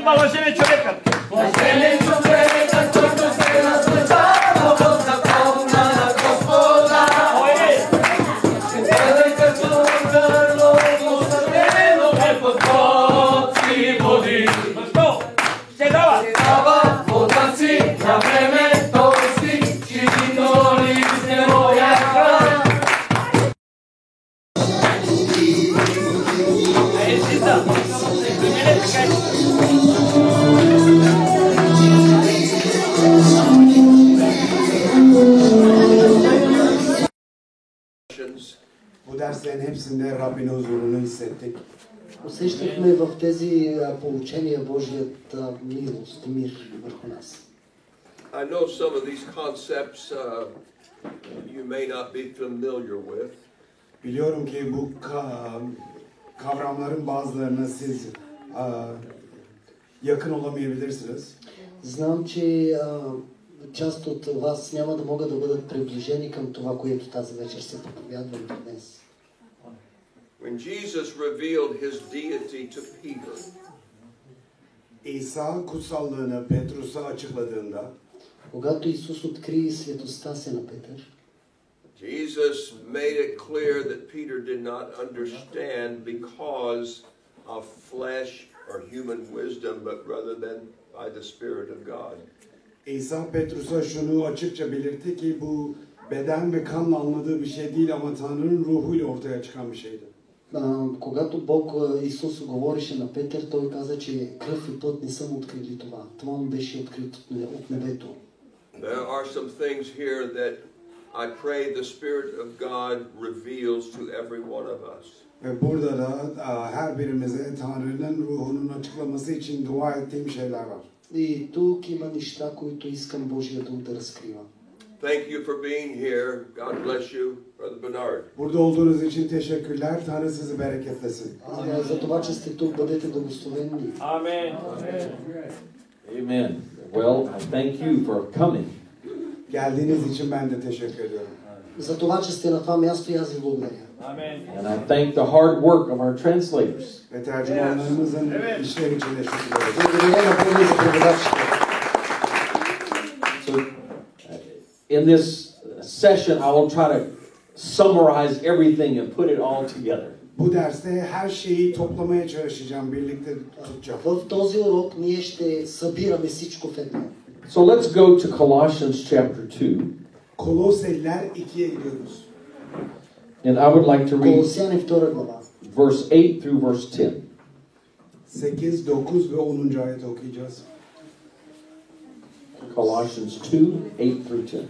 ma lo se ne човекът. Bu derslerin hepsinde Rabbin huzurunu hissettik. Усещахме в тези получения Божията милост, мир върху нас. I know some of these concepts you may not be familiar with. Biliyorum ki bu kavramların bazılarına siz yakın olamayabilirsiniz. Знам, че част от вас няма да могат да бъдат приближени към това, което тази вечер се проповядва днес. When Jesus revealed his deity to Peter, İsa kutsallığını Petrus'a açıkladığında, когато Исус откри светостта си на Петър, Jesus made it clear that Peter did not understand because of flesh or human wisdom, but rather than by the Spirit of God. İsa Petrus'a şunu açıkça belirtti ki bu beden ve kanla anladığı bir şey değil ama Tanrı'nın ruhuyla ortaya çıkan bir şeydi. Когато Бог Исус говореше на Петър, той каза, че кръв и път не са му открили това. Това му беше открито от небето. There are some things here that I pray the Spirit of God reveals to every one of us. Ve burada da her birimize Tanrı'nın ruhunun açıklaması için dua ettiğim şeyler var. И тук има неща, които искам Божия дух да разкрива. Thank you for being here. God bless you, Brother Bernard. Burada olduğunuz için teşekkürler. Tanrı sizi bereketlesin. За това, че сте тук, бъдете благословени. Amen. Amen. Well, I thank you for coming. Geldiğiniz için ben de teşekkür ediyorum. За това, че сте на това място, и аз ви благодаря. Amen. And I thank the hard work of our translators. Ve tercümanlarımızın işleri için teşekkür ederim. Благодаря на Бога за преводачите. So, in this session, I will try to summarize everything and put it all together. Bu derste her şeyi toplamaya çalışacağım, birlikte tutacağım. В този урок ние ще събираме всичко в едно. So let's go to Colossians chapter 2. Koloseliler 2'ye gidiyoruz. And I would like to read Колосяни 2 глава. verse 8 through verse 10. 8, 9 ve 10. ayet okuyacağız. Colossians 2, 8 through 10.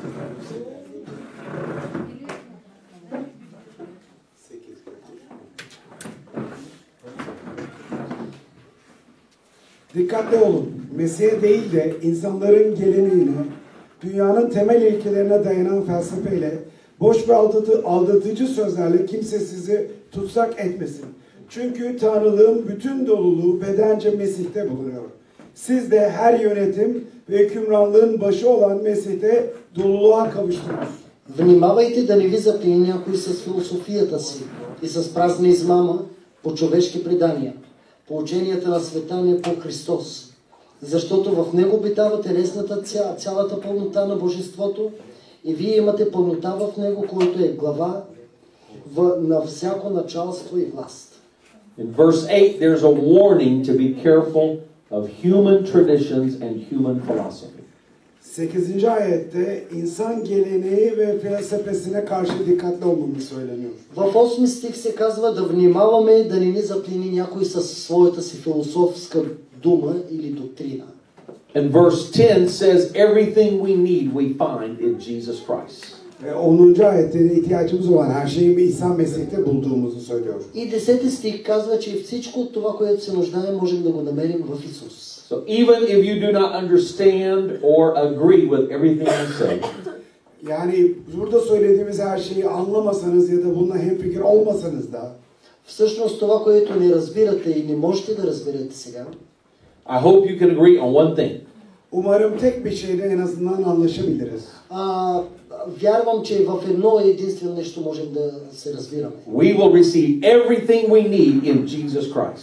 Dikkatli olun. Mesih'e değil de insanların geleneğine, dünyanın temel ilkelerine dayanan felsefeyle, boş ve aldatıcı sözlerle kimse sizi tutsak etmesin. Çünkü Tanrılığın bütün doluluğu bedence Mesih'te bulunuyor. Siz de her yönetim ve hükümranlığın başı olan Mesih'te doluluğa kavuştunuz. Внимавайте да не ви заплени някой с философията си и с празна измама по човешки предания, по ученията на света не по Христос. Защото в него обитава телесната цялата пълнота на Божеството и вие имате пълнота в него, който е глава на всяко началство и власт. In verse 8, there's a warning to be careful of human traditions and human philosophy. 8. ayette insan geleneği ve felsefesine karşı dikkatli olmamız söyleniyor. В 8 стих се казва да внимаваме да не ни заплени някой със своята си философска дума или доктрина. And verse 10 says everything we need we find in Jesus Christ. Ve 10. ayette de ihtiyacımız olan her şeyi İsa Mesih'te bulduğumuzu söylüyor. И 10 стих казва, че всичко от това, което се нуждаем, можем да го намерим в Исус. So even if you do not understand or agree with everything I say, Yani burada söylediğimiz her şeyi anlamasanız ya da bununla hemfikir olmasanız da Всъщност това, което не разбирате и не можете да разберете сега, I hope you can agree on one thing. umarım tek bir şeyde en azından anlaşabiliriz. вярвам, че в едно единствено нещо можем да се разбираме. We will receive everything we need in Jesus Christ.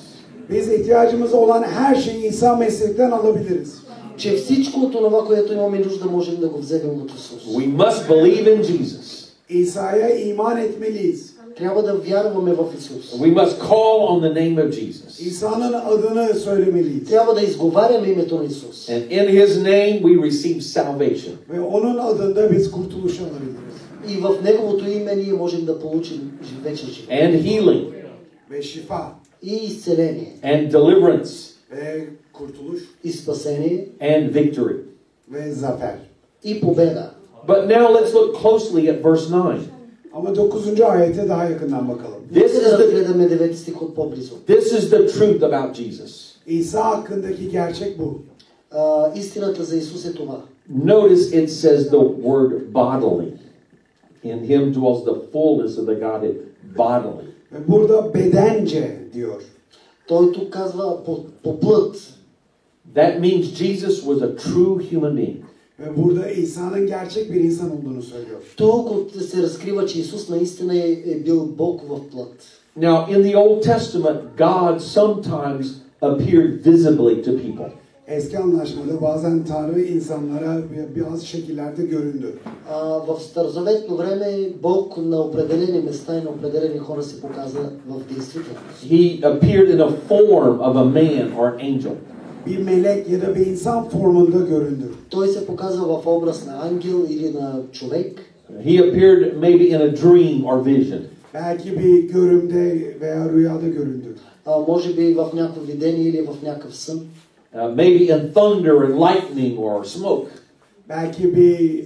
Biz ihtiyacımız olan her şeyi İsa Mesih'ten alabiliriz. Че всичко от това, което имаме нужда, можем да го вземем от Исус. We must believe in Jesus. İsa'ya iman etmeliyiz. Трябва да вярваме в Исус. We must call on the name of Jesus. İsa'nın adını söylemeliyiz. Трябва да изговаряме името на Исус. And in His name we receive salvation. Ve onun adında biz kurtuluş alabiliriz. И в Неговото име ние можем да получим вечен живот. And healing. Ve şifa. И изцеление. And deliverance. Ve kurtuluş. И спасение. And victory. Ve zafer. И победа. But now let's look closely at verse 9. Ama 9. ayete daha yakından bakalım. This Нека is да the, разгледаме 9 стих от по-близо. this is the truth about Jesus. İsa hakkındaki gerçek bu. Истината за Исус е това. Notice it says the word bodily. In Him dwells the fullness of the Godhead bodily. Ve burada bedence diyor. Той тук казва по плът. That means Jesus was a true human being. Ve burada İsa'nın gerçek bir insan olduğunu söylüyor. Тук се разкрива, че Исус наистина е бил Бог в плът. Now, in the Old Testament, God sometimes appeared visibly to people. Eski anlaşmada bazen Tanrı insanlara bazı şekillerde göründü. В старозаветно време Бог на определени места и на определени хора се показа в действителност. He appeared in a form of a man or an angel. Bir melek ya da bir insan formunda göründü. Той се показва в образ на ангел или на човек. He appeared maybe in a dream or vision. Belki bir görümde veya rüyada göründü. Може би в някакво видение или в някакъв сън. Maybe in thunder and lightning or smoke. Belki bir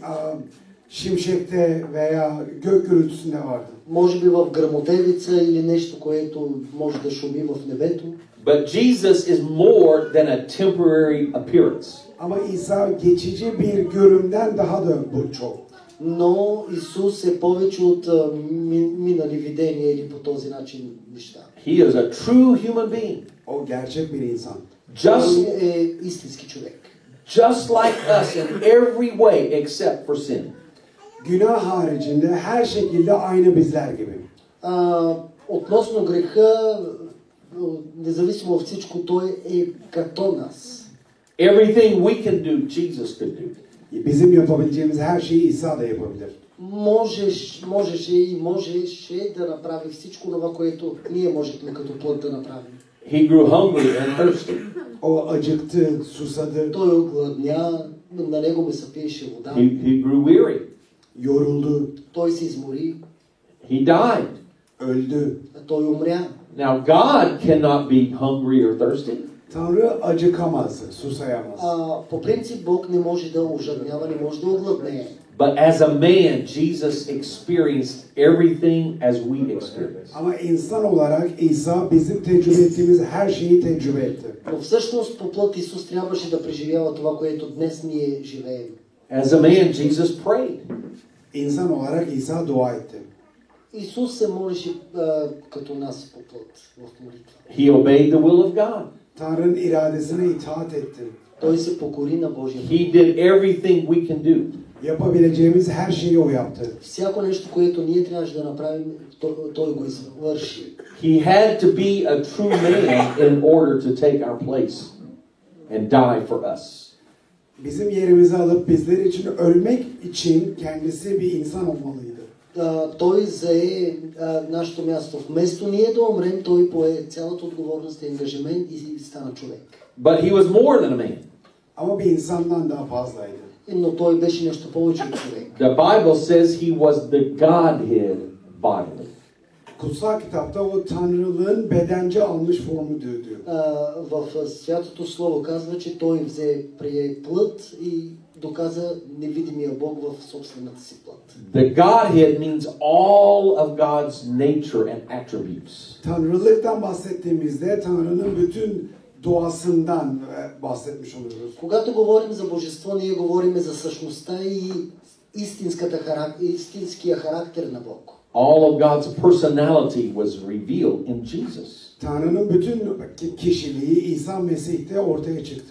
şimşekte veya gök gürültüsünde vardı. Може би в гръмотевица или нещо, което може да шуми в небето. But Jesus is more than a temporary appearance. Ama İsa geçici bir görümden daha da bu çok. Но Исус е повече от минали видения или по този начин неща. He is a true human being. O gerçek bir insan. Just, Той е истински човек. just like us in every way except for sin. Günah haricinde her şekilde aynı bizler gibi. Относно греха, независимо от всичко, той е като нас. Everything we can do, Jesus could do. Bizim yapabileceğimiz her şeyi İsa da yapabilir. Можеше и можеше да направи всичко това, което ние можехме като плът да направим. He grew hungry and thirsty. O acıktı, susadı, Той огладня, на него ме се пиеше вода. He grew weary. yoruldu, Той се измори, He died. öldü. той умря. Now, God cannot be hungry or thirsty. Tanrı acıkamaz, susayamaz. По принцип Бог не може да ожаднява, не може да огладнее. But as a man, Jesus experienced everything as we experience. Ama insan olarak İsa bizim tecrübe ettiğimiz her şeyi tecrübe etti. Но всъщност по плът Исус трябваше да преживява това, което днес ние живеем. As a man, Jesus prayed. İnsan olarak İsa dua etti. Исус се молеше като нас по плът в молитва. He obeyed the will of God. Tanrı'nın iradesine itaat etti. Той се покори на Божия воля. He did everything we can do. Yapabileceğimiz her şeyi o yaptı. Всяко нещо, което ние трябваше да направим, той го извърши. He had to be a true man in order to take our place and die for us. Bizim yerimizi alıp bizler için ölmek için kendisi bir insan olmalıydı. Той зае нашето място. Вместо ние да умрем, той пое цялата отговорност и ангажимент и стана човек. But he was more than a man. Ama bir insandan daha fazlaydı. Но той беше нещо повече от човек. The Bible says he was the Godhead bodily. Kutsal kitapta o Tanrılığın bedence almış formu diyor. В Святото Слово казва, че той прие плът и доказа невидимия Бог в собствената си плът. The Godhead means all of God's nature and attributes. Tanrılıktan bahsettiğimizde Tanrı'nın bütün doğasından bahsetmiş oluyoruz. Когато говорим за божество, ние говорим за същността и истинския характер на Бог. All of God's personality was revealed in Jesus. Tanrı'nın bütün kişiliği İsa Mesih'te ortaya çıktı.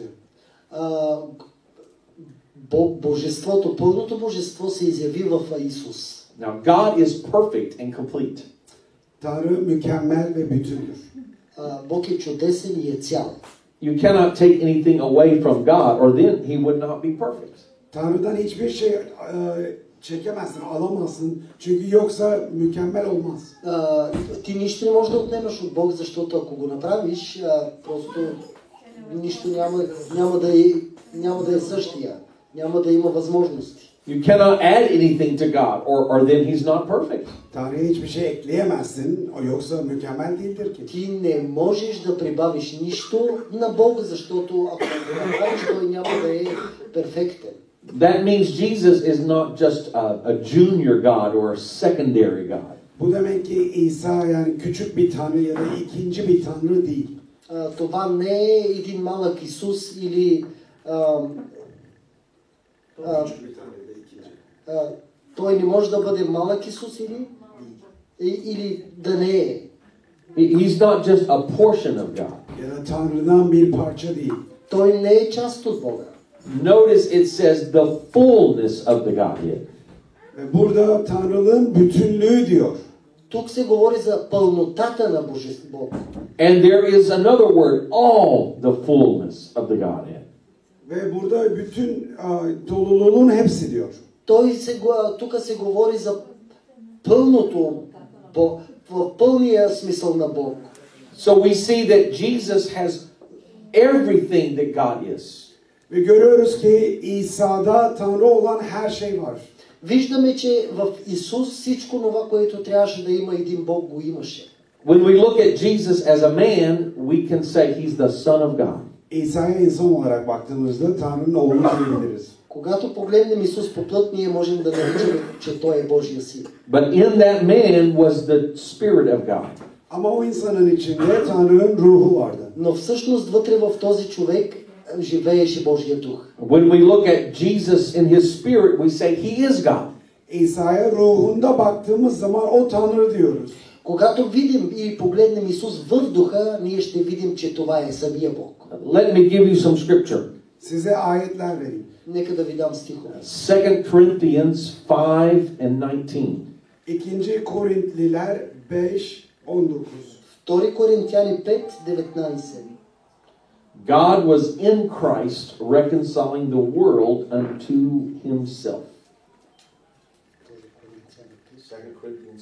Божеството, пълното божество се изяви в Исус. Now God is perfect and complete. Tanrı mükemmel ve bütündür. Бог е чудесен и е цял. You cannot take anything away from God, or then He would not be perfect. Tanrı'dan hiçbir şey çekemezsin, alamazsın. Çünkü yoksa mükemmel olmaz. Ти нищо не можеш да отнемаш от Бог, защото ако го направиш, просто нищо няма да е същия. Няма да има възможности. You cannot add anything to God, or then He's not perfect. Tanrı'ya hiçbir şey ekleyemezsin, o yoksa mükemmel değildir ki. Ти не можеш да прибавиш нищо на Бог, защото ако го направиш, той няма да е перфектен. That means Jesus is not just a junior God or a secondary God. Bu demek ki İsa yani küçük bir tanrı ya da ikinci bir tanrı değil. Това не е един малък Исус или Küçük bir tanrı ya da ikinci. той не може да бъде малък Исус или да не е. He's not just a portion of God. Ya da Tanrı'dan bir parça değil. Той не е част от Бога. Notice it says the fullness of the Godhead. Ve burada Tanrılığın bütünlüğü diyor. Тук се говори за пълнотата на Бог. And there is another word, all the fullness of the Godhead. Ve burada bütün doluluğun hepsi diyor. Тук се говори за пълното, в пълния смисъл на Бог. So we see that Jesus has everything that God is. Ve görüyoruz ki İsa'da Tanrı olan her şey var. Виждаме, че в Исус всичко това, което трябваше да има един Бог, го имаше. When we look at Jesus as a man, we can say He's the Son of God. İsa'ya insan olarak baktığımızda Tanrı'nın oğlu diyebiliriz. Когато погледнем Исус по плът, ние можем да наричаме, че Той е Божия син. But in that man was the Spirit of God. Ama o insanın içinde Tanrı'nın ruhu vardı. Но всъщност вътре в този човек живееше Божия дух. When we look at Jesus in His Spirit, we say He is God. İsa'ya ruhunda baktığımız zaman o Tanrı diyoruz. Когато видим и погледнем Исус в духа, ние ще видим, че това е самия Бог. Let me give you some scripture. Size ayetler vereyim. Нека да ви дам стихове. 2 Corinthians 5 and 19. 2 Korintliler 5:19. 2 Коринтияни 5:19. God was in Christ reconciling the world unto Himself. 2 Corinthians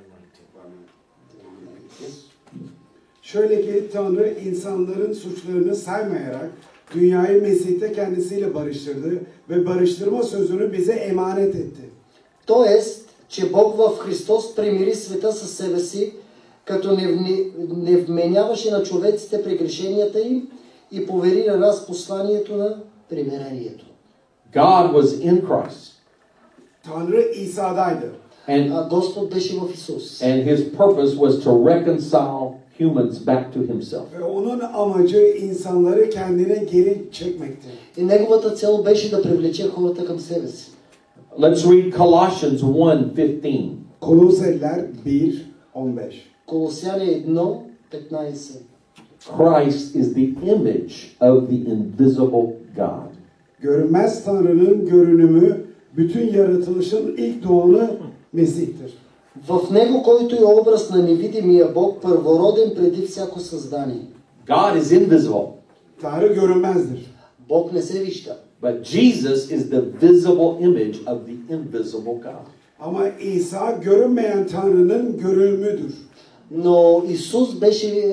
5:19. Şöyle ki Tanrı insanların suçlarını saymayarak dünyayı Mesih'te kendisiyle barıştırdı ve barıştırma sözünü bize emanet etti. Тоест, че Бог в Христос примири света със себе си, като не вменяваше на човеците прегрешенията им и повери на нас посланието на примирението. God was in Christ. Tanrı İsa'daydı. And Господ беше в Исус. And His purpose was to reconcile humans back to Himself. Ve onun amacı insanları kendine geri çekmekti. И неговата цел беше да привлече хората към себе си. Let's read Colossians 1:15. Koloseliler 1:15. Колосяни 1:15. Christ is the image of the invisible God. Görünmez Tanrı'nın görünümü, bütün yaratılışın ilk doğanı Mesih'tir. В него, който е образ на невидимия Бог, първороден преди всяко създание. God is invisible, Tanrı görünmezdir. Бог не се вижда. but Jesus is the visible image of the invisible God. Ama İsa görünmeyen Tanrı'nın görünümüdür. Но Исус беше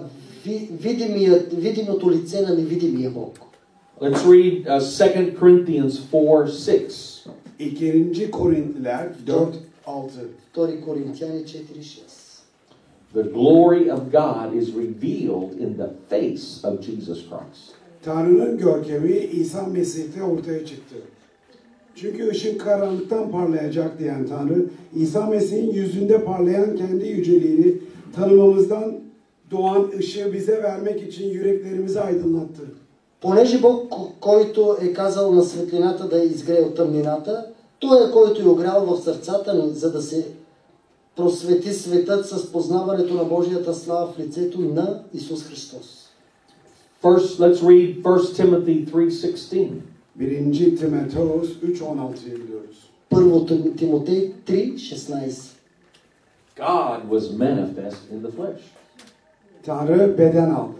видимото лице на невидимия Бог. Let's read 2 Corinthians 4:6. 2. Korintliler 4:6. 2 Коринтияни 4:6. The glory of God is revealed in the face of Jesus Christ. Tanrı'nın görkemi İsa Mesih'te ortaya çıktı. Çünkü ışık karanlıktan parlayacak diyen Tanrı, İsa Mesih'in yüzünde parlayan kendi yüceliğini tanımamızdan doğan ışığı bize vermek için yüreklerimizi aydınlattı. Понеже Бог, който е казал на светлината да изгрее от тъмнината, Той е, който е огрял в сърцата ни, за да се просвети светът с познаването на Божията слава в лицето на Исус Христос. First, let's read 1 Timothy 3:16. 1. Timoteus 3:16'yı biliyoruz. Първо Тимотей 3:16. God was manifest in the flesh. Tanrı beden aldı.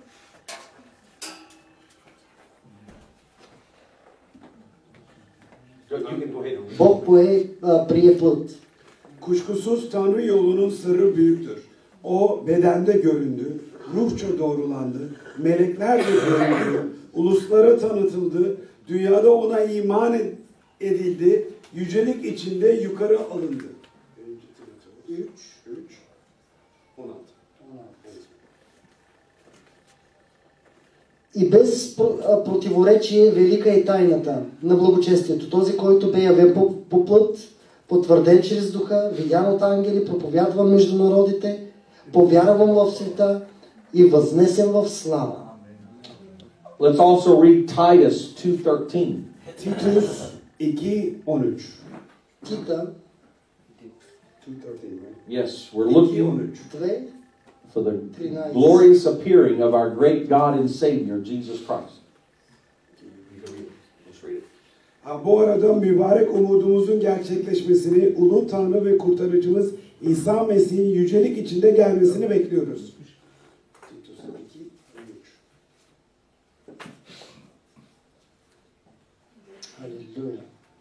You can go ahead and read. Бог прие плът. Kuşkusuz Tanrı yolunun sırrı büyüktür. O bedende göründü, ruhça doğrulandı, melekler de göründü, uluslara tanıtıldı, dünyada ona iman edildi, yücelik içinde yukarı alındı. 3, 16. И без противоречие велика е тайната на благочестието. Този, който бе явен по плът, потвърден чрез духа, видян от ангели, проповядван между народите, повярван в света и възнесен в слава. Let's also read Titus 2:13. Titus 2:13. Тита 2:13, right? Yes, we're looking 2, for the glorious appearing of our great God and Savior, Jesus Christ. Bu arada mübarek umudumuzun gerçekleşmesini, ulu Tanrı ve kurtarıcımız İsa Mesih'in yücelik içinde gelmesini bekliyoruz. Халелуя.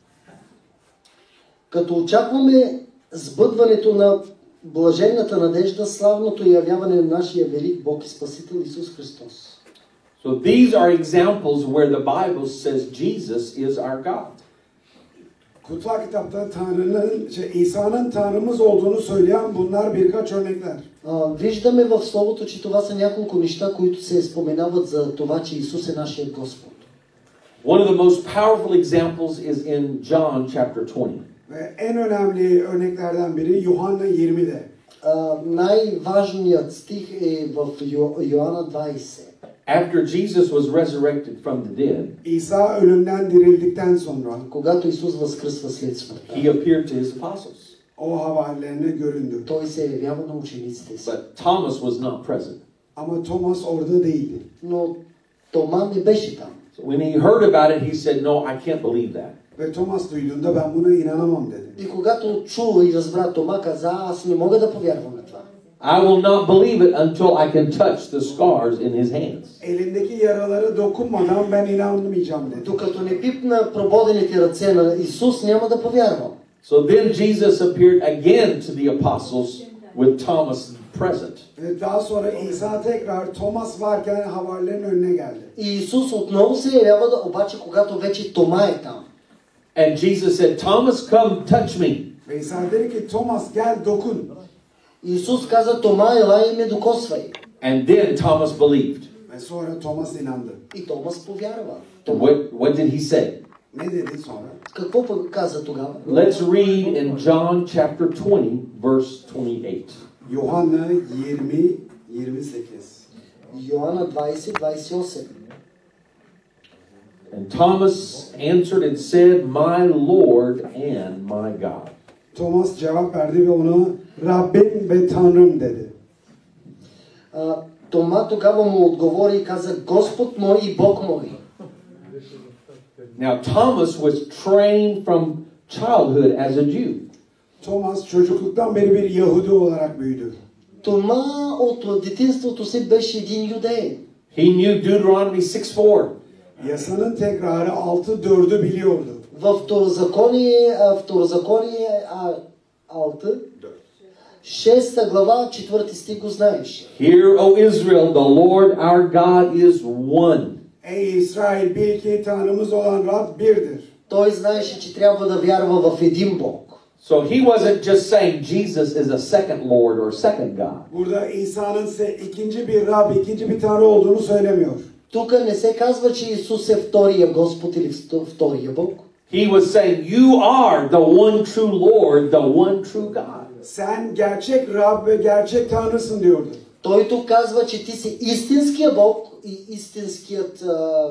Като очакваме сбъдването на блаженната надежда, славното явяване на нашия велик Бог и Спасител Исус Христос. So these are examples where the Bible says Jesus is our God. Kutsal kitapta İsa'nın Tanrımız olduğunu söyleyen bunlar birkaç örnekler. Виждаме в Словото, че това са няколко неща, които се споменават за това, че Исус е нашият Господ. One of the most powerful examples is in John chapter 20. Ve en önemli örneklerden biri Yuhanna 20'de. Най-важният стих е в Йоанна 20. After Jesus was resurrected from the dead, İsa ölümden dirildikten sonra Когато Исус възкръсва след смъртта, he appeared to his apostles. o havarilerine göründü. Той се явява на учениците си. But Thomas was not present. Ama Thomas orada değildi. Но Тома не беше там. So when he heard about it, he said, "No, I can't believe that." Ve Thomas duyduğunda ben buna inanamam dedi. И когато чу и разбра, Тома каза, аз не мога да повярвам на това. I will not believe it until I can touch the scars in his hands. Elindeki yaralara dokunmadan ben inanmayacağım dedi. Докато не пипна прободените ръце на Исус, няма да повярвам. So then Jesus appeared again to the apostles with Thomas present. Ve daha sonra İsa tekrar Thomas varken havarilerin önüne geldi. И Исус отново се явява, обаче когато вече Тома е там. And Jesus said, "Thomas, come touch me." Ve İsa dedi ki Thomas gel dokun. Исус каза, Тома, елай и ме докосвай. And then Thomas believed. Ve sonra Thomas inandı. И Томас повярва. What did he say? Ne dedi sonra? Какво пък каза тогава? Let's read in John chapter 20, verse 28. Yuhanna 20:28. Йоанна 20:28. And Thomas answered and said, "My Lord and my God." Thomas cevap verdi ve ona Rabbim ve Tanrım dedi. Тома тогава му отговори и каза, Господ мой и Бог мой. Now Thomas was trained from childhood as a Jew. Thomas çocukluktan beri bir Yahudi olarak büyüdü. Тома от детинството си беше един юдеин. He knew Deuteronomy 6:4. Yasanın tekrarı 6:4'ü biliyordu. В Второзаконие 6 глава, 4 стих го знаеш. Hear, O Israel, the Lord our God is one. Ey İsrail bil ki Tanrımız olan Rab birdir. Той знаеше, че трябва да вярва в един Бог. So he wasn't just saying Jesus is a second Lord or second God. Burada İsa'nın ikinci bir Rab, ikinci bir Tanrı olduğunu söylemiyor. Тук не се казва, че Исус е втория Господ или втория Бог. He was saying, you are the one true Lord, the one true God. Sen gerçek Rab ve gerçek Tanrısın diyordu. Той тук казва, че ти си истинския Бог и истинският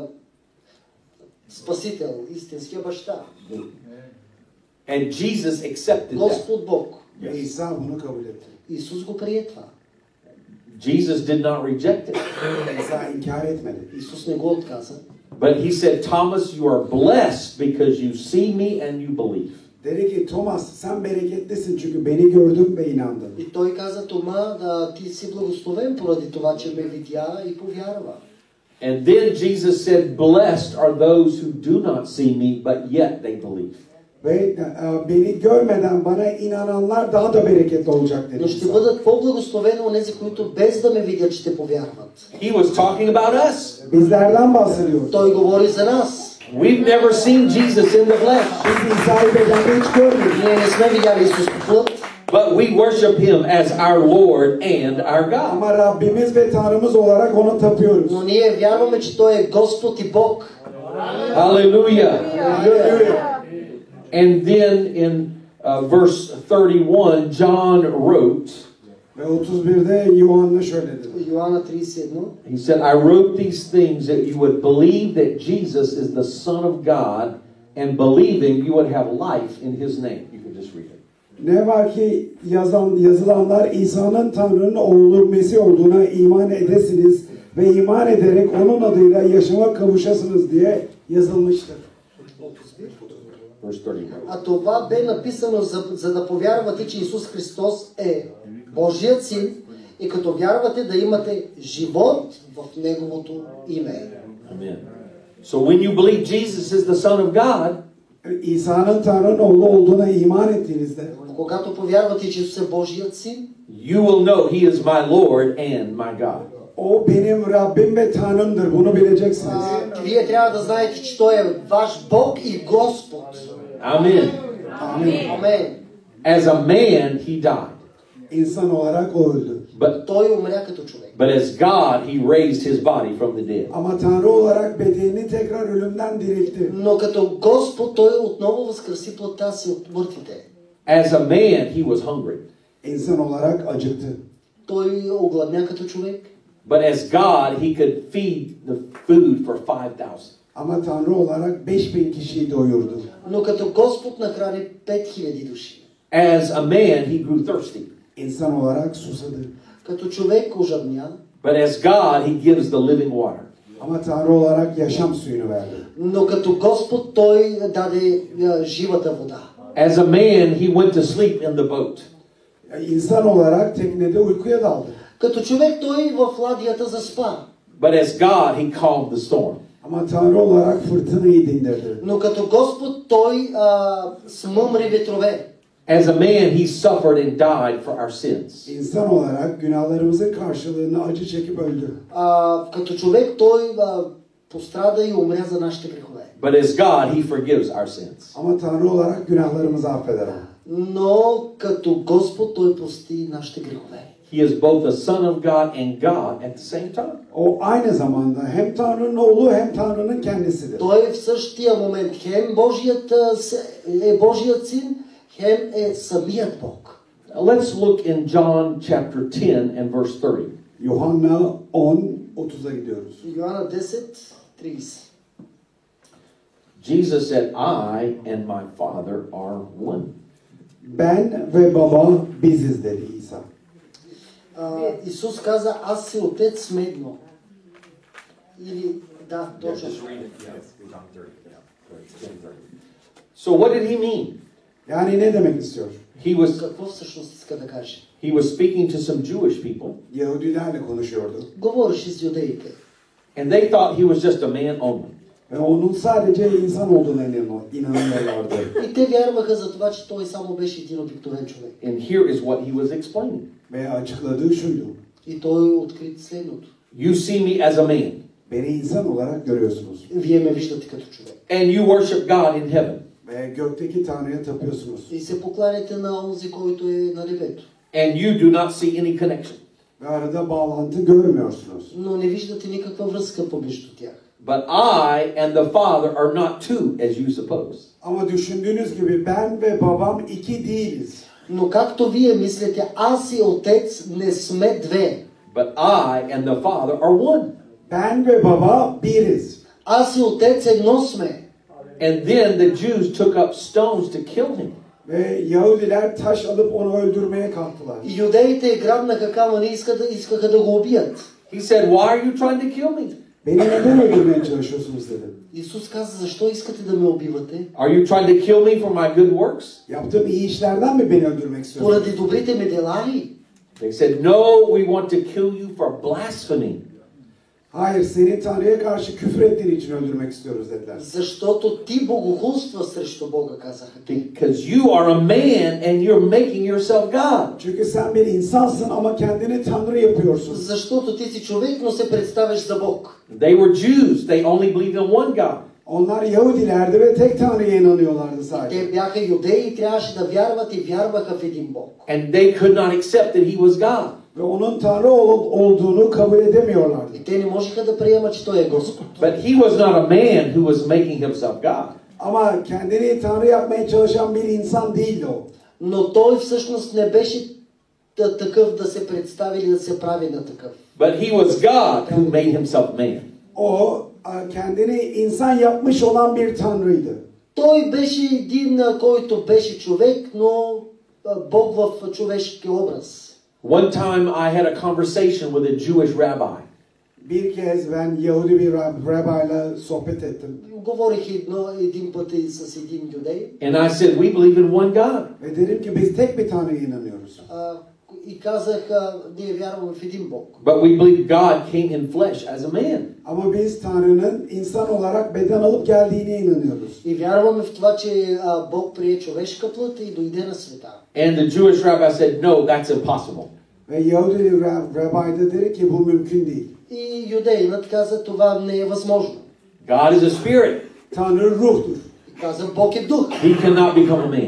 Спасител, истинския баща. And Jesus accepted that. Господ Бог. Ve İsa bunu kabul etti. Исус го прие това. Jesus did not reject it. İsa inkar etmedi. Исус не го отказа. But he said, Thomas, you are blessed because you see me and you believe. Dedi ki Thomas sen bereketlisin çünkü beni gördün ve inandın. И той каза: Тома, ти си благословен поради това, че ме видя и повярва. And then Jesus said, blessed are those who do not see me, but yet they believe. Ve beni görmeden bana inananlar daha da bereketli olacak dedi. Но ще бъдат по-благословени онези, които без да ме видят ще повярват. He was talking about us. Bizlerden bahsediyor. Той говори за нас. We've never seen Jesus in the flesh, Biz İsa'yı bedende hiç görmedik. Ние не сме видяли Исус по плът, but we worship him as our Lord and our God. Ama Rabbimiz ve Tanrımız olarak onu tapıyoruz. но ние вярваме, че Той е Господ и Бог. Hallelujah. Hallelujah. And then in verse 31, John wrote, Ve 31'de Yuhanna şöyle dedi. Йоанна 31. he said, I wrote these things that you would believe that Jesus is the Son of God, and believing you would have life in his name. You can just read it. Ne var ki yazılanlar İsa'nın Tanrı'nın oğlu Mesih olduğuna iman edesiniz ve iman ederek onun adıyla yaşama kavuşasınız diye yazılmıştır. Verse 31. А това бе написано, за да повярвате, че Исус Христос е Божият Син и като вярвате да имате живот в Неговото име. Amen. So when you believe Jesus is the Son of God, İsa'nın Tanrı'nın oğlu olduğuna iman ettiğinizde Когато повярвате, че Исус е Божият Син, you will know he is my Lord and my God. o benim Rabbim ve Tanrımdır. Bunu bileceksiniz. вие трябва да знаете, че Той е ваш Бог и Господ. Amen. Амен. As a man, he died. İnsan olarak o öldü. Той умря като човек. But as God, he raised his body from the dead. Ama Tanrı olarak bedenini tekrar ölümden diriltti. Но като Господ, Той отново възкреси плътта си от мъртвите. As a man, he was hungry. İnsan olarak acıktı. Той огладня като човек. But as God, he could feed the food for 5,000. Ama Tanrı olarak 5000 kişiyi doyurdu. Но като Господ нахрани 5000 души. As a man, he grew thirsty. İnsan olarak susadı. Като човек ожадня. But as God, he gives the living water. Ama Tanrı olarak yaşam suyunu verdi. Но като Господ Той даде живата вода. As a man, he went to sleep in the boat. İnsan olarak teknede uykuya daldı. Като човек Той в ладията заспа. But as God, he calmed the storm. Ama Tanrı olarak fırtınayı dindirdi. Но като Господ Той смъмри ветрове. As a man, he suffered and died for our sins. İnsan olarak günahlarımızın karşılığını acı çekip öldü. Като човек Той пострада и умря за нашите грехове. But as God, he forgives our sins. Ama Tanrı olarak günahlarımızı affeder. Но като Господ Той прости нашите грехове. He is both the Son of God and God at the same time. O aynı zamanda hem Tanrı'nın oğlu hem Tanrı'nın kendisidir. Той в същия момент хем е Божият син, хем е самият Бог. Let's look in John chapter 10 and verse 30. Yuhanna 10:30'a gidiyoruz. Йоанна 10:30. Jesus said, I and my Father are one. Ben ve baba biziz dedi İsa. Исус каза, аз и Отец сме едно. Или, да, точно. So what did he mean? Yani ne demek istiyor? Какво всъщност иска да каже? He was speaking to some Jewish people, Yahudilerle konuşuyordu. Говореше с юдеите. and they thought he was just a man only. Ve onun sadece insan olduğuna inanıyorlardı. И те вярваха за това, че той само беше един обикновен човек. And here is what he was explaining. Ve açıkladığı şuydu. И той откри следното. You see me as a man, Beni insan olarak görüyorsunuz. Вие ме виждате като човек. and you worship God in heaven. Ve gökteki Tanrı'ya tapıyorsunuz. И се покланяте на онзи, който е на небето. And you do not see any connection. Ve arada bağlantı görmüyorsunuz. Но не виждате никаква връзка помежду тях. But I and the Father are not two, as you suppose. Ama düşündüğünüz gibi ben ve babam iki değiliz. Но както вие мислите, аз и Отец не сме две. But I and the Father are one. Ben ve baba biriz. Аз и Отец едно сме. And then the Jews took up stones to kill him. Ve Yahudiler taş alıp onu öldürmeye kalktılar. И юдеите грабнаха камъни и искаха да го убият. He said, why are you trying to kill me? Beni neden öldürmeye çalışıyorsunuz dedi. Исус каза, защо искате да ме убивате? Are you trying to kill me for my good works? Yaptığım iyi işlerden mi beni öldürmek istiyorsunuz? Поради добрите ми дела ли? They said, no, we want to kill you for blasphemy. Hayır, seni Tanrı'ya karşı küfür ettiğin için öldürmek istiyoruz dediler. Защото ти богохулства срещу Бога, казаха те. Because you are a man and you're making yourself God. Çünkü sen bir insansın ama kendini Tanrı yapıyorsun. Защото ти си човек, но се представяш за Бог. They were Jews. They only believed in one God. Onlar Yahudilerdi ve tek Tanrı'ya inanıyorlardı sadece. Те бяха юдеи и трябваше да вярват и вярваха в един Бог. And they could not accept that he was God. Ve onun Tanrı olduğunu kabul edemiyorlardı. И те не можеха да приемат, че Той е Господ. But he was not a man who was making himself God. Ama kendini Tanrı yapmaya çalışan bir insan değildi o. Но Той всъщност не беше такъв да се представи или да се прави на такъв. But he was God who made himself man. O kendini insan yapmış olan bir Tanrıydı. Той беше един, който беше човек, но Бог в човешки образ. One time I had a conversation with a Jewish rabbi. Bir kez ben Yahudi bir rabayla sohbet ettim. Говорих един път и с един юдей. And I said, we believe in one God. Ve dedim ki biz tek bir Tanrı'ya inanıyoruz. И казах, ние вярваме в един Бог. But we believe God came in flesh as a man. Ama biz Tanrı'nın insan olarak beden alıp geldiğine inanıyoruz. И вярваме в това, че Бог прие човешка плът и дойде на света. And the Jewish rabbi said, no, that's impossible. Ve Yahudi rabbi de dedi ki bu mümkün değil. И юдеинът каза, това не е възможно. God is a spirit. Tanrı ruhtur. И каза, Бог е дух. He cannot become a man.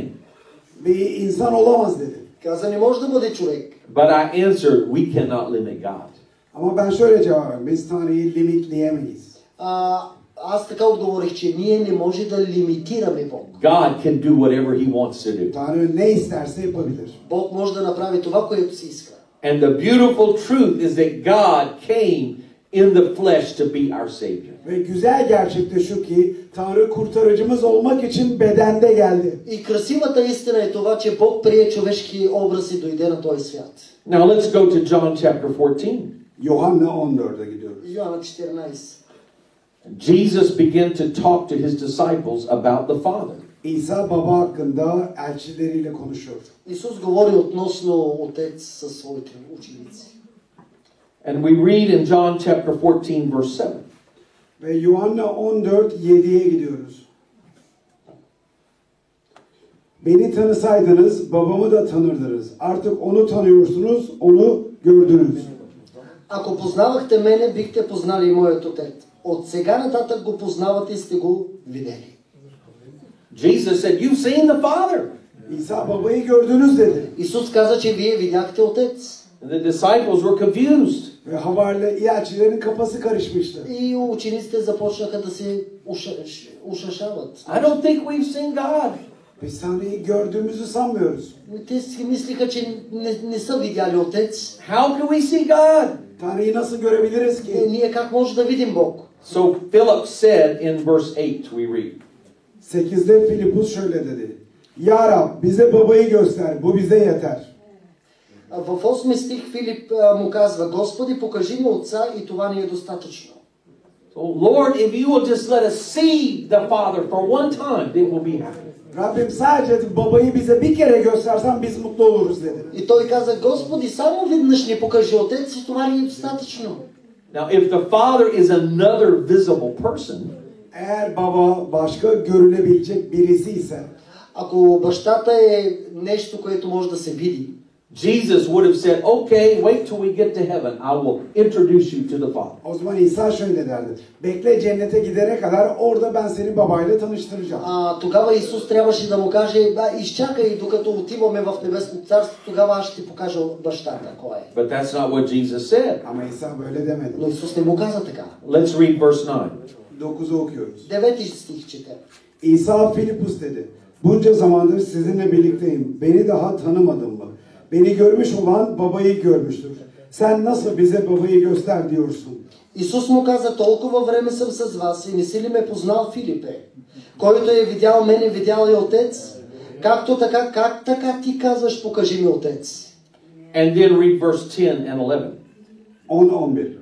Bir insan olamaz dedi. Каза, не може да бъде човек. But I answered, we cannot limit God. Ama ben şöyle cevap verdim. Biz Tanrı'yı limitleyemeyiz. Аз така отговорих, че ние не може да лимитираме Бог. God can do whatever he wants to do. Tanrı ne isterse yapabilir. Бог може да направи това, което си иска. And the beautiful truth is that God came in the flesh to be our Savior. Ve güzel gerçek de şu ki Tanrı kurtarıcımız olmak için bedende geldi. И красивата истина е това, че Бог прие човешки образ и дойде на този свят. Now let's go to John chapter 14. Yuhanna 14'e gidiyoruz. Йоанна 14. Jesus began to talk to his disciples about the Father. İsa baba hakkında elçileriyle konuşuyor. Исус говори относно Отец със своите ученици. And we read in John chapter 14 verse 7. Ve Yuhanna 14:7'ye gidiyoruz. Beni tanısaydınız babamı da tanırdınız. Artık onu tanıyorsunuz, onu gördünüz. Ако познавахте мене, бихте познали и моят Отец. От сега нататък го познавате и сте го видели. Jesus said, you've seen the Father. İsa babayı gördünüz dedi. Исус каза, че вие видяхте Отец. And the disciples were confused. Ve havariler, elçilerin kafası karışmıştı. И учениците започнаха да се ушашават. I don't think we've seen God. Biz Tanrı'yı gördüğümüzü sanmıyoruz. Те си мислиха, че не са видяли Отец. How can we see God? Tanrı'yı nasıl görebiliriz ki? Ние как може да видим Бог? So Philip said in verse 8, we read, 8'de Filipus şöyle dedi. Ya Rab bize babayı göster, bu bize yeter. В 8 стих Филип му казва, Господи, покажи ми Отца и това ни е достатъчно. so Lord, if you will just let us see the Father for one time, then we'll be happy. Rabbim sadece babayı bize bir kere göstersen biz mutlu oluruz dedi. И той каза, Господи, само веднъж ни покажи Отец и това ни е достатъчно. Now, if the Father is another visible person, Eğer baba başka görülebilecek birisi ise, Ако бащата е нещо, което може да се види, Jesus would have said, okay, wait till we get to heaven. I will introduce you to the Father. o zaman İsa şöyle derdi. Bekle cennete gidene kadar orada ben seni babayla tanıştıracağım. тогава Исус трябваше да му каже, изчакай докато отиваме в Небесното царство, тогава аз ще ти покажа бащата, кой е. But that's not what Jesus said. Ama İsa böyle demedi. Но Исус не му каза така. Let's read verse 9. 9'u okuyoruz. 9 стих чете. İsa Filipus dedi. Bunca zamandır sizinle birlikteyim. Beni daha tanımadın mı? Beni görmüş olan babayı görmüştür. Sen nasıl bize babayı göster diyorsun? Исус му каза, толкова време съм с вас и не си ли ме познал, Филипе? Който е видял мене, видял и Отец. Както така, как така ти казваш, покажи ми Отец? And then read verse 10 and 11. 10-11.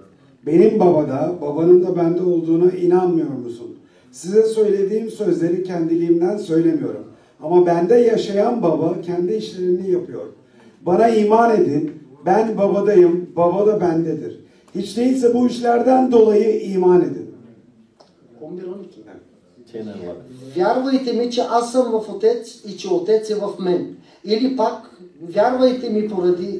Benim babada, babanın da bende olduğuna inanmıyor musun? Size söylediğim sözleri kendiliğimden söylemiyorum. Ama bende yaşayan baba kendi işlerini yapıyor. Bana iman edin, ben babadayım, baba da bendedir. Hiç değilse bu işlerden dolayı iman edin. 11-12. 10 and 11. Вярвайте ми, че аз съм в Отец и че Отец е в мен. Или пак, вярвайте ми поради...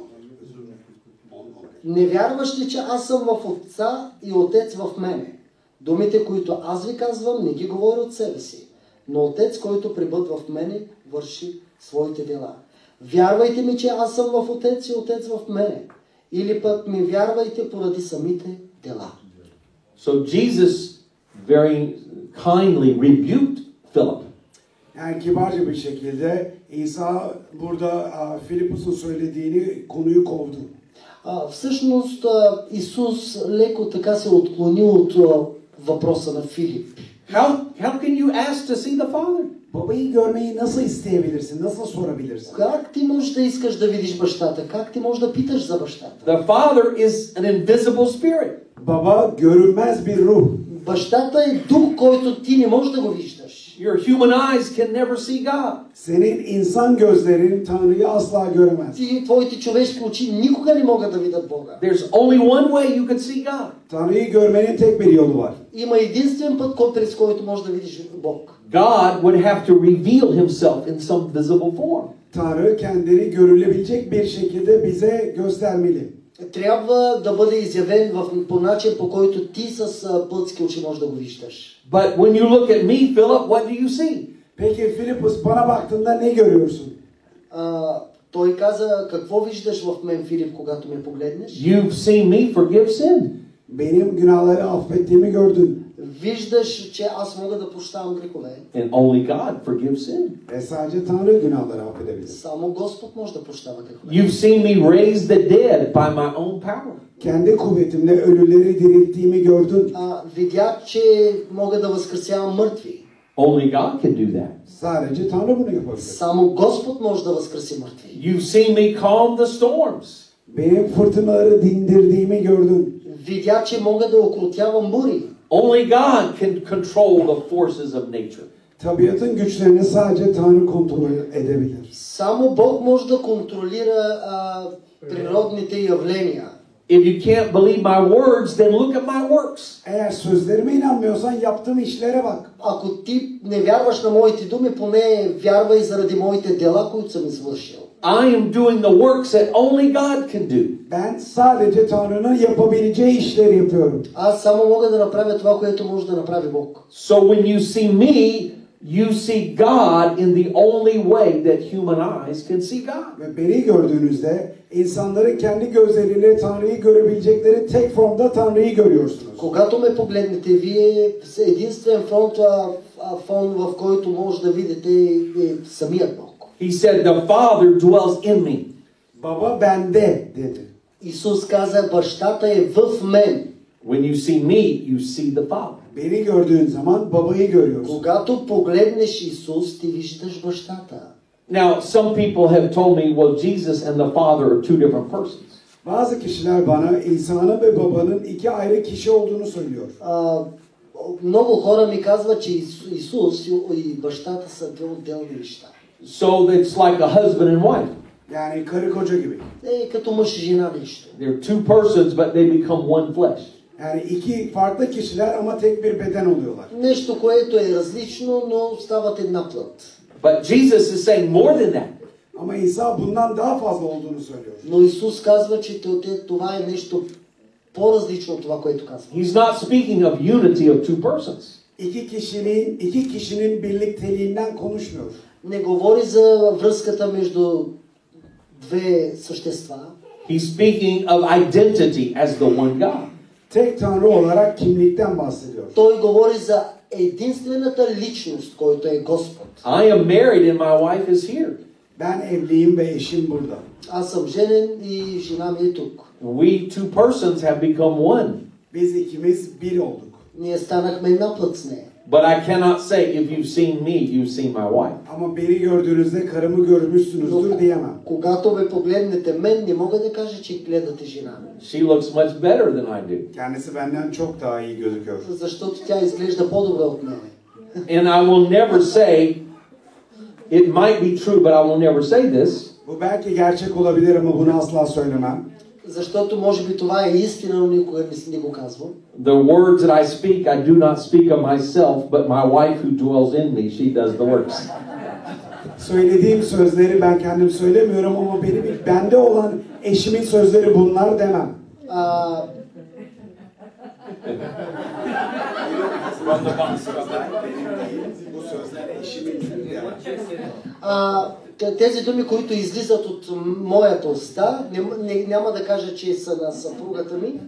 Не вярваш ли, че аз съм в Отца и Отец в мене? Думите, които аз ви казвам, не ги говоря от себе си. Но Отец, който пребъдва в мене, върши своите дела. Вярвайте ми, че аз съм в Отец и Отец в мене. Или пък ми вярвайте поради самите дела. So Jesus very kindly rebuked Philip. Yani kibarca bir şekilde İsa burada Filipus'un söylediğini konuyu kovdu. Всъщност Исус леко така се отклони от въпроса на Филип. How can you ask to see the Father? Babayı görmeyi nasıl isteyebilirsin? Nasıl sorabilirsin? Как ти можеш да искаш да видиш бащата? Как ти можеш да питаш за бащата? The Father is an invisible spirit. Baba görünmez bir ruh. Бащата е дух, който ти не можеш да го виждаш. Your human eyes can never see God. Senin insan gözlerin Tanrı'yı asla göremez. Твоите човешки очи никога не могат да видят Бога. There's only one way you can see God. Tanrı'yı görmenin tek bir yolu var. Има единствен път, през който можеш да видиш Бог. God would have to reveal himself in some visible form. Tanrı kendini görülebilecek bir şekilde bize göstermeli. Трябва да бъде изявен по начин, по който ти с плътски очи можеш да го виждаш. But when you look at me, Philip, what do you see? Peki Filipus bana baktığında ne görüyorsun? Той каза, какво виждаш в мен, Филип, когато ме погледнеш? You've seen me forgive sin. Benim günahları affettiğimi gördün. Виждаш, че аз мога да прощавам грехове. And only God forgives sin. Sadece Tanrı günahları affedebilir. Само Господ може да прощава грехове. You've seen me raise the dead by my own power. Kendi kuvvetimle ölüleri dirilttiğimi gördün. Видях, че мога да възкресявам мъртви. Only God can do that. Sadece Tanrı bunu yapabilir. Само Господ може да възкреси мъртви. You've seen me calm the storms. Benim fırtınaları dindirdiğimi gördün. Видях, че мога да окротявам бури. Only God can control the forces of nature. Tabiatın güçlerini sadece Tanrı kontrol edebilir. Само Бог може да контролира природните явления. If you can't believe my words, then look at my works. Eğer sözlerime inanmıyorsan yaptığım işlere bak. Ако ти не вярваш на моите думи, поне вярвай заради моите дела, които съм извършил. I am doing the works that only God can do. Ben sadece Tanrı'nın yapabileceği işleri yapıyorum. Аз само мога да направя това, което може да направи Бог. So when you see me, you see God in the only way that human eyes can see God. Ve beni gördüğünüzde insanların kendi gözleriyle Tanrı'yı görebilecekleri tek formda Tanrı'yı görüyorsunuz. Когато ме погледнете, вие с единствен фон, в който може да видите самият Бог. He said, the Father dwells in me. Baba bende dedi. Исус каза, бащата е в мен. When you see me, you see the Father. Beni gördüğün zaman babayı görüyorsun. Когато погледнеш Исус, ти виждаш бащата. Now, some people have told me, well, Jesus and the Father are two different persons. Bazı kişiler bana İsa'nın ve babanın iki ayrı kişi olduğunu söylüyor. Много хора ми казват, че Исус и бащата са две отделни неща. So it's like a husband and wife. Yani karı koca gibi. Като мъж и жена нещо. They're two persons, but they become one flesh. Yani iki farklı kişiler ama tek bir beden oluyorlar. Нещо, което е различно, но стават една плът. But Jesus is saying more than that. Ama İsa bundan daha fazla olduğunu söylüyor. Но Исус казва, че това е нещо по-различно от това, което казва. He's not speaking of unity of two persons. İki kişinin birlikteliğinden konuşmuyor. Не говори за връзката между две същества. He's speaking of identity as the one God. Tek Tanrı olarak kimlikten bahsediyor. Той говори за единствената личност, който е Господ. I am married and my wife is here. Ben evliyim ve eşim burada. Аз съм женен и жена ми е тук. We two persons have become one. Biz ikimiz bir olduk. Ние станахме една плът с нея. But I cannot say, if you've seen me, you've seen my wife. Ama beni gördüğünüzde karımı görmüşsünüzdür diyemem. Когато ме погледнете мен, не мога да кажа, че гледате жена ми. She looks much better than I do. Kendisi benden çok daha iyi gözüküyor. Защото тя изглежда по-добре от мене. And I will never say, it might be true, but I will never say this. Bu belki gerçek olabilir ama bunu asla söylemem. Защото може би това е истина, но никога не го казвам. The words that I speak, I do not speak of myself, but my wife who dwells in me, she does the works. Söylediğim sözleri ben kendim söylemiyorum ama bende olan eşimin sözleri bunlar demem. Bu sözler eşimin demem. Тези думи, които излизат от моята уста, няма да кажа, че са на съпругата ми.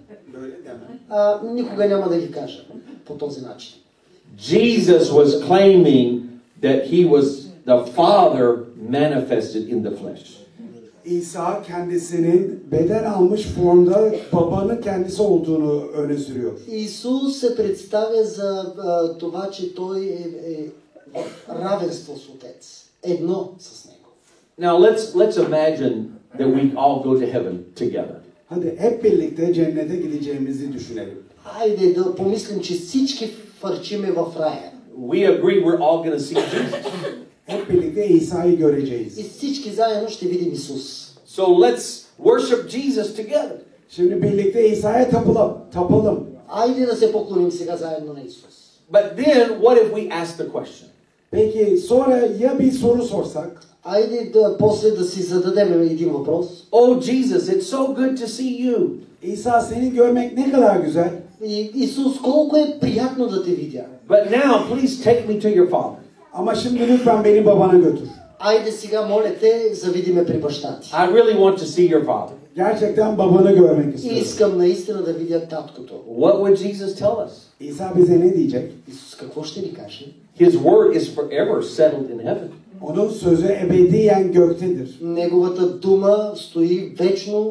Никога няма да ги кажа по този начин. Jesus was claiming that he was the Father manifested in the flesh. İsa kendisinin beden almış formda babanın kendisi olduğunu öne sürüyor. Исус се представя за това, че той е в равенство с Отец. Едно с него. Now let's imagine that we all go to heaven together. Hadi hep birlikte cennete gideceğimizi düşünelim. Хайде да помислим, че всички фърчиме в рая. We agree we're all going to see Jesus. Hep birlikte İsa'yı göreceğiz. И всички заедно ще видим Исус. So let's worship Jesus together. Şimdi birlikte İsa'ya tapalım. Айде да се поклоним сега заедно на Исус. But then what if we ask the question? Peki sonra ya bir soru sorsak? Айде после да си зададем един въпрос. Oh Jesus, it's so good to see you. İsa seni görmek ne kadar güzel. Исус, колко е приятно да те видя. But now please take me to your Father. Ama şimdi lütfen beni babana götür. Айде сега, моля те, завиди ме при баща ти. I really want to see your Father. Gerçekten babanı görmek istiyorum. Искам наистина да видя таткото. What would Jesus tell us? İsa bize ne diyecek? Исус какво ще ни каже? His word is forever settled in heaven. Onun sözü ebediyen göktedir. Неговата дума стои вечно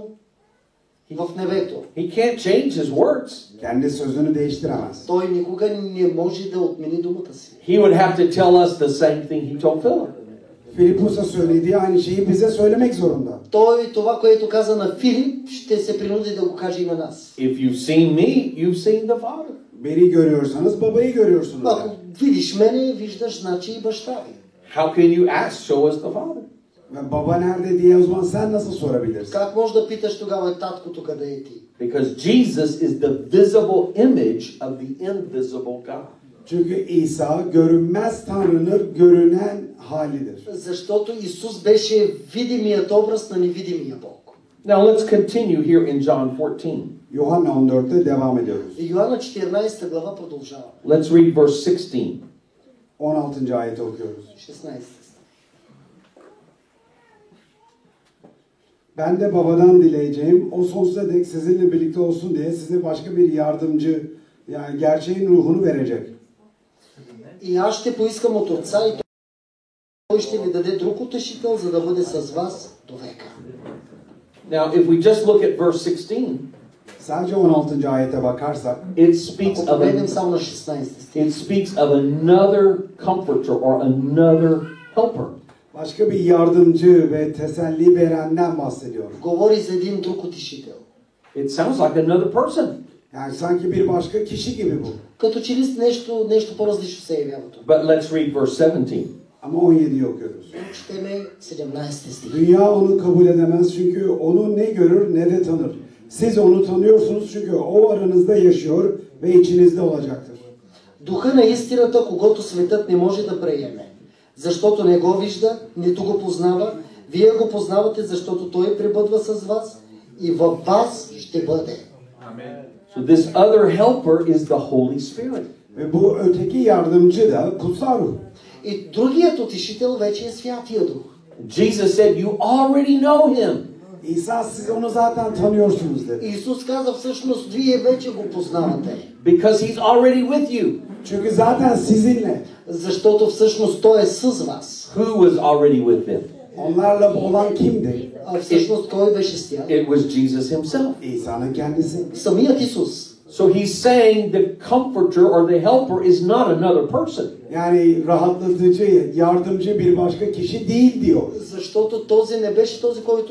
в небето. He can't change his words. Kendi sözünü değiştiremez. Той никога не може да отмени думата си. He would have to tell us the same thing he told Philip. Filipus'a söylediği aynı şeyi bize söylemek zorunda. Той това, което каза на Филип, ще се принуди да го каже и на нас. If you've seen me, you've seen the Father. Beni görüyorsanız babayı görüyorsunuz. Ако видиш мене, виждаш значи и баща ви. How can you ask, show us the Father? Ve baba nerede diye o zaman sen nasıl sorabilirsin? Как може да питаш тогава таткото къде е ти? Because Jesus is the visible image of the invisible God. Çünkü İsa görünmez Tanrı'nın görünen halidir. Защото Исус беше видимият образ на невидимия Бог. Now let's continue here in John 14. Yuhanna 14'te devam ediyoruz. Йоанна 14 глава продължава. Let's read verse 16. 16. ayeti okuyoruz. 16. Ben de babadan dileyeceğim, o sonsuza dek sizinle birlikte olsun diye size başka bir yardımcı, yani gerçeğin ruhunu verecek. И аз ще поискам от Отца и Той ще ви даде друг утешител, за да бъде с вас до века. Now, if we just look at verse 16, Sadece 16. ayete bakarsak, it speaks Ако of погледнем само на 16 стих, it speaks of another comforter or another helper. başka bir yardımcı ve teselli verenden bahsediyor. говори за един друг утешител. It sounds like another person. Yani sanki bir başka kişi gibi bu. Като че ли нещо по-различно се явява тук. But let's read verse 17. Ama 17'yi okuyoruz. Четеме 17 стих. Dünya onu kabul edemez çünkü onu ne görür ne de tanır. Siz onu tanıyorsunuz çünkü o aranızda yaşıyor ve içinizde olacaktır. Духа на истината, когото светът не може да приеме, защото не го вижда, нито го познава. Вие го познавате, защото Той пребъдва с вас и във вас ще бъде. So this other helper is the Holy Spirit. Ve bu öteki yardımcı da kutsal ruh. И другият утешител вече е Святия Дух. Jesus said, you already know him. İsa siz onu zaten tanıyorsunuz dedi. Исус каза всъщност, вие вече го познавате. Because he's already with you. Çünkü zaten sizinle. Защото всъщност Той е с вас. Who was already with them? Onlarla olan kimdi? А всъщност кой беше с тях? It was Jesus himself. İsa'nın kendisi. Самият Исус. So he's saying the comforter or the helper is not another person. Yani rahatlatıcı, yardımcı bir başka kişi değil diyor. Защото този не беше този, който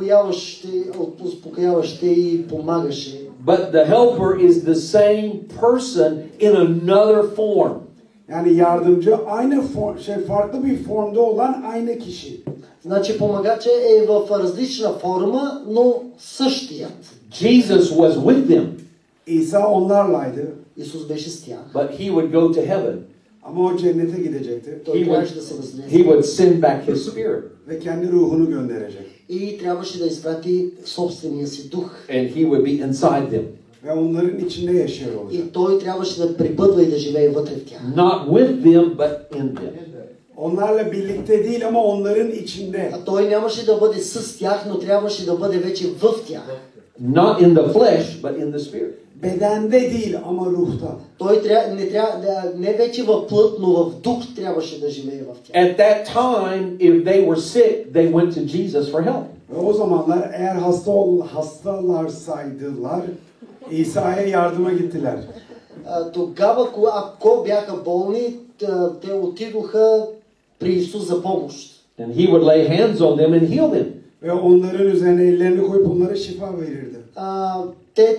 успокояваше и помагаше. But the helper is the same person in another form. Yani yardımcı aynı farklı bir formda olan aynı kişi. Значи помагача е в различна форма, но същият. Jesus was with them, İsa onlarlaydı Исус беше с тях. but he would go to heaven. ama o cennete gidecekti Той трябваше да се възнесе. He would send back his spirit. ve kendi ruhunu gönderecek. И трябваше да изпрати собствения си дух. And he would be inside them. Ve onların içinde yaşıyor olacak. И той трябваше да пребъдва и да живее вътре в тях. Not with them, but in them. Onlarla birlikte değil ama onların içinde. А той нямаше да бъде с тях, но трябваше да бъде вече в тях. Not in the flesh, but in the spirit. Bedende değil ama ruhta. Той не вече в плът, но в дух трябваше да живее в тях. At that time, if they were sick, they went to Jesus for help. Ve o zamanlar eğer hastalarsaydılar İsa'ya yardıma gittiler. Тогава, ако бяха болни, те отидоха при Исус за помощ. And he would lay hands on them and heal them. Ve onların üzerine ellerini koyup onlara şifa verirdi. Те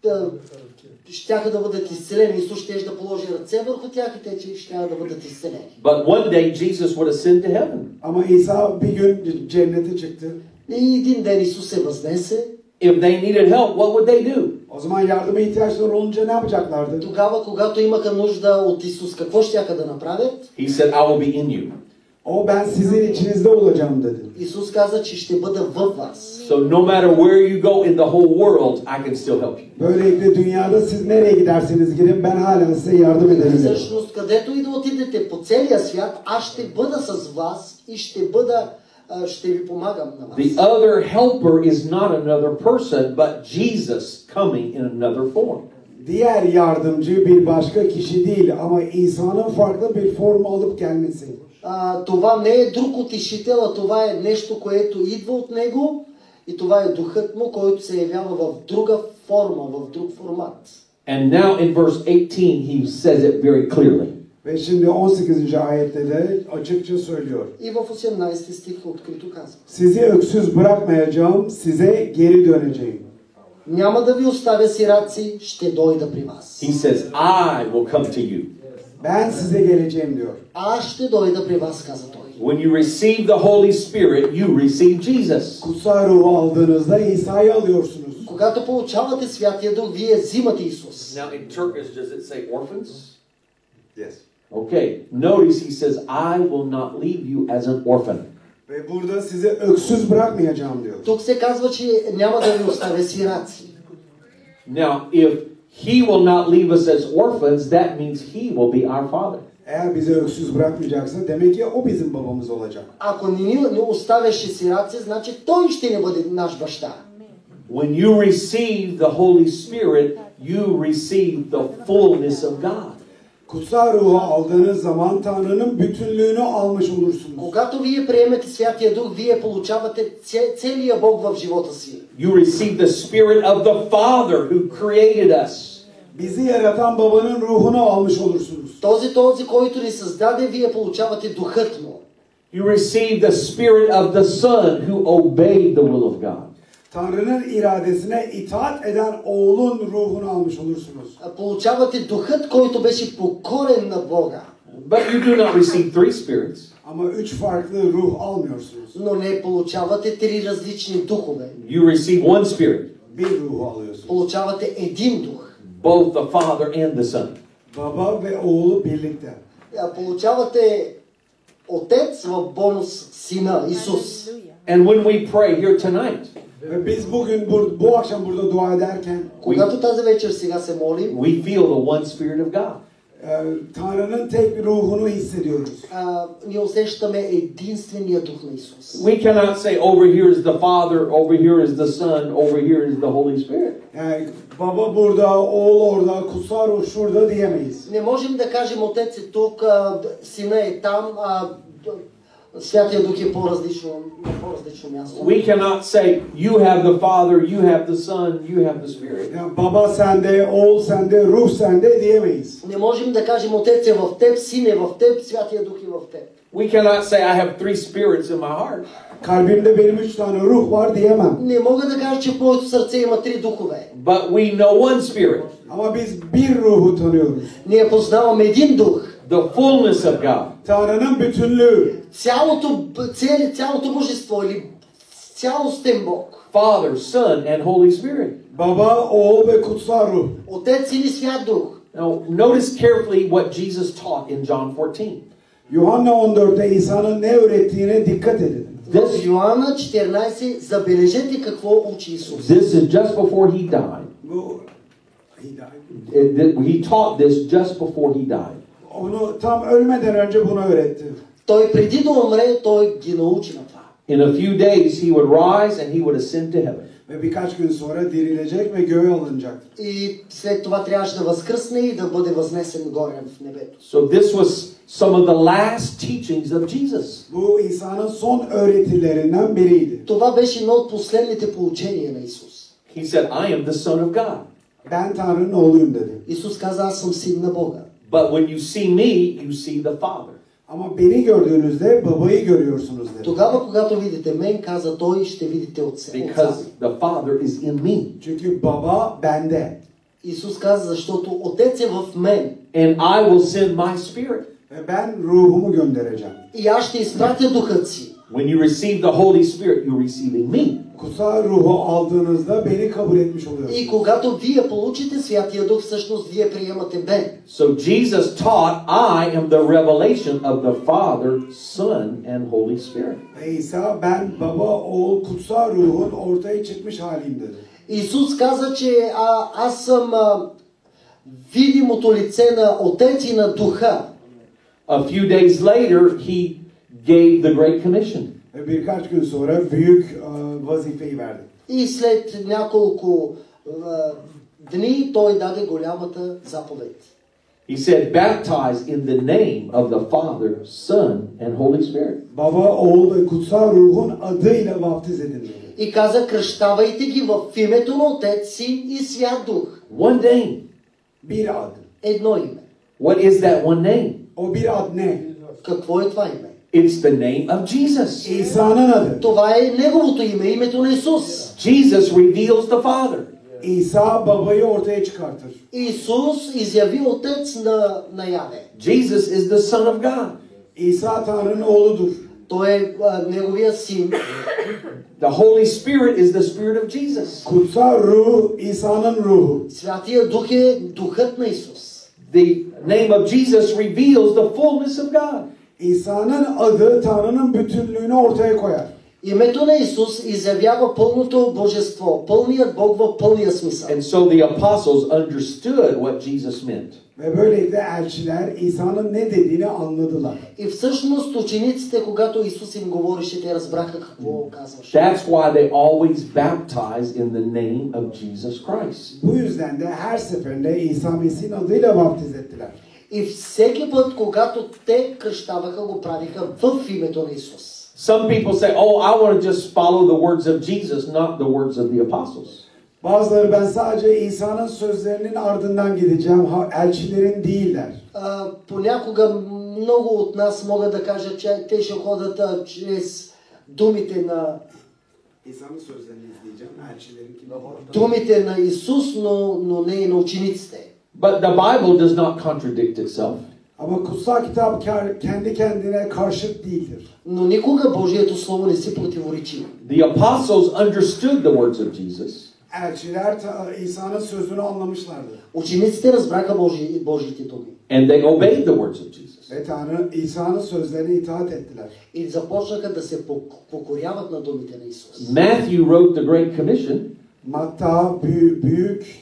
щяха да бъдат изцелени. Исус ще да положи ръце върху тях и те ще да бъдат изцелени. But one day, Jesus would ascend to heaven. Ama İsa bir gün cennete çıktı. И един ден Исус се възнесе. If they needed help, what would they do? O zaman yardıma ihtiyaçları olunca ne yapacaklardı? Тогава, когато имаха нужда от Исус, какво щяха да направят? He said, I will be in you. O ben sizin içinizde olacağım dedi. Исус каза, че ще бъда във вас. So no matter where you go in the whole world, I can still help you. Böylelikle dünyada siz nereye giderseniz gidin ben hala size yardım ederim dedi. Всъщност, където и да отидете по целия свят, аз ще бъда с вас и ще ви помагам на вас. The other helper is not another person, but Jesus coming in another form. Diğer yardımcı bir başka kişi değil ama İsa'nın farklı bir form alıp gelmesi. Това не е друг утешител, а това е нещо, което идва от него и това е духът му, който се явява в друга форма, в друг формат. And now in verse 18, he says it very clearly. Ve şimdi 18. ayette de açıkça söylüyor. И в 18 стих открито казва: Sizi öksüz bırakmayacağım, size geri döneceğim. Няма да ви оставя сираци, ще дойда при вас. He says, I will come to you. Ben size geleceğim diyor. Аз ще дойда при вас, каза той. When you receive the Holy Spirit, you receive Jesus. Kutsal ruhu aldığınızda İsa'yı alıyorsunuz. Когато получавате Святия Дух, вие взимате Исус. Now in Turkish, does it say orphans? Yes. Okay. Notice he says, I will not leave you as an orphan. Ve burada sizi öksüz bırakmayacağım diyor. Тук се казва, че няма да ви оставя сираци. Now, if he will not leave us as orphans, that means he will be our father. Eğer bizi öksüz bırakmayacaksa demek ki o bizim babamız olacak. Ако не оставяше сираци, значи той ще не бъде наш баща. When you receive the Holy Spirit, you receive the fullness of God. Kutsal ruhu aldığınız zaman Tanrı'nın bütünlüğünü almış olursunuz. Когато вие приемете Святия Дух, вие получавате целия Бог в живота си. You receive the Spirit of the Father who created us. Bizi yaratan babanın ruhunu almış olursunuz. Този, който ни създаде, вие получавате духът му. You receive the Spirit of the Son who obeyed the will of God. Tanrı'nın iradesine itaat eden oğlun ruhunu almış olursunuz. Получавате духът, който беше покорен на Бога. But you do not receive three spirits. Ama üç farklı ruh almıyorsunuz. Но не получавате три различни духове. You receive one Spirit, Bir ruhu alıyorsunuz. Получавате един дух. both the Father and the Son. Baba ve oğlu birlikte. Получавате Отец в бонус Сина, Исус. And when we pray here tonight, Ve biz bugün bu akşam burada dua ederken Когато тази вечер сега се молим, we feel the one Spirit of God. Tanrı'nın tek ruhunu hissediyoruz. ние усещаме единствения дух на Исус. We cannot say over here is the Father, over here is the Son, over here is the Holy Spirit. Yani baba burada, oğul orada, kutsal ruh şurada diyemeyiz. Не можем да кажем Отец е тук, Сина е там, Святия Дух е на по-различно място. We cannot say, you have the Father, you have the Son, you have the Spirit. Yani baba sende, oğul sende, ruh sende diyemeyiz. Не можем да кажем Отец е в теб, Син е в теб, Святия Дух е в теб. We cannot say, I have 3 spirits in my heart. Kalbimde benim 3 tane ruh var diyemem. Не мога да кажа, че в моето сърце има 3 духове. But we know one Spirit, Ama biz bir ruhu tanıyoruz. Ние познаваме един дух. the fullness of God. Tanrı'nın bütünlüğü. Цялото божество или цялостен Бог. Father, Son, and Holy Spirit. Baba, oğul ve kutsal ruh. Отец или Свят Дух. Now, notice carefully what Jesus taught in John 14. Yuhanna 14'te İsa'nın ne öğrettiğine dikkat edin. В Йоанна 14 забележете какво учи Исус. This is just before he died. Bu He taught this just before he died. onu tam ölmeden önce bunu öğretti. Той преди да умре, той ги научи на това. In a few days, he would rise and he would ascend to heaven. Ve birkaç gün sonra dirilecek ve göğe alınacaktır. И след това трябваше да възкръсне и да бъде възнесен горе в небето. So this was some of the last teachings of Jesus. Bu İsa'nın son öğretilerinden biriydi. Това беше едно от последните поучения на Исус. He said, I am the Son of God. Ben Tanrı'nın oğluyum dedi. Исус каза, аз съм син на Бога. But when you see me, you see the Father. Ama beni gördüğünüzde babayı görüyorsunuz dedi. Тогава, когато видите мен, каза той, ще видите Отца. Because the Father is in me. Çünkü baba bende. Исус каза, защото Отец е в мен. And I will send my Spirit. Ve ben ruhumu göndereceğim. И аз ще изпратя духът си. When you receive the Holy Spirit, you're receiving me. Kutsal ruhu aldığınızda beni kabul etmiş oluyorsunuz. И когато вие получите Святия Дух, всъщност вие приемате мен. So Jesus taught, I am the revelation of the Father, Son, and Holy Spirit. Ve İsa ben baba, oğul, kutsal ruhun ortaya çıkmış haliyim dedi. Исус каза, че аз съм видимото лице на Отец и на Духа. A few days later, he gave the Great Commission. Ve birkaç gün sonra büyük vazifeyi verdi. И след няколко дни той даде голямата заповед. He said, baptize in the name of the Father, Son, and Holy Spirit. Baba, oğul ve kutsal ruhun adıyla vaftiz edin dedi. И каза, кръщавайте ги в името на Отец, Син и Свят Дух. One name. Bir ad. Едно име. What is that one name? O bir ad ne? Какво е това име? It's the name of Jesus. İsa'nın adı. Това е Неговото име, името на Исус. Jesus reveals the Father. İsa babayı ortaya çıkartır. Исус изяви Отец наяве. Jesus is the Son of God. İsa Tanrı'nın oğludur. Той е Неговия Син. The Holy Spirit is the Spirit of Jesus. Kutsal ruh İsa'nın ruhu. Святия Дух е Духът на Исус. The name of Jesus reveals the fullness of God. İsa'nın adı Tanrı'nın bütünlüğünü ortaya koyar. Името на Исус изявява пълното божество, пълният Бог в пълния смисъл. And so the apostles understood what Jesus meant. Ve böylelikle elçiler İsa'nın ne dediğini anladılar. И всъщност учениците, когато Исус им говореше, те разбраха какво казваше. That's why they always baptize in the name of Jesus Christ. Bu yüzden de her seferinde İsa Mesih'in adıyla vaftiz ettiler. И всеки път, когато те кръщаваха, го правиха в името на Исус. Some people say, oh, I want to just follow the words of Jesus, not the words of the apostles. Bazıları ben sadece İsa'nın sözlerinin ardından gideceğim, elçilerin değil der. Понякога много от нас могат да кажат, че те ще ходят чрез думите на İsa'nın sözlerini izleyeceğim, elçilerin kimi? думите на Исус, но не и на учениците. But the Bible does not contradict itself. Ama kutsal kitap kendi kendine karşıt değildir. Но никога Божието Слово не си противоречи. The apostles understood the words of Jesus. Elçiler İsa'nın sözünü anlamışlardı. Учениците разбраха Божиите думи. And they obeyed the words of Jesus. Ve Tanrı İsa'nın sözlerine itaat ettiler. И започнаха да се покоряват на думите на Исус. Matthew wrote the Great Commission. Matta büyük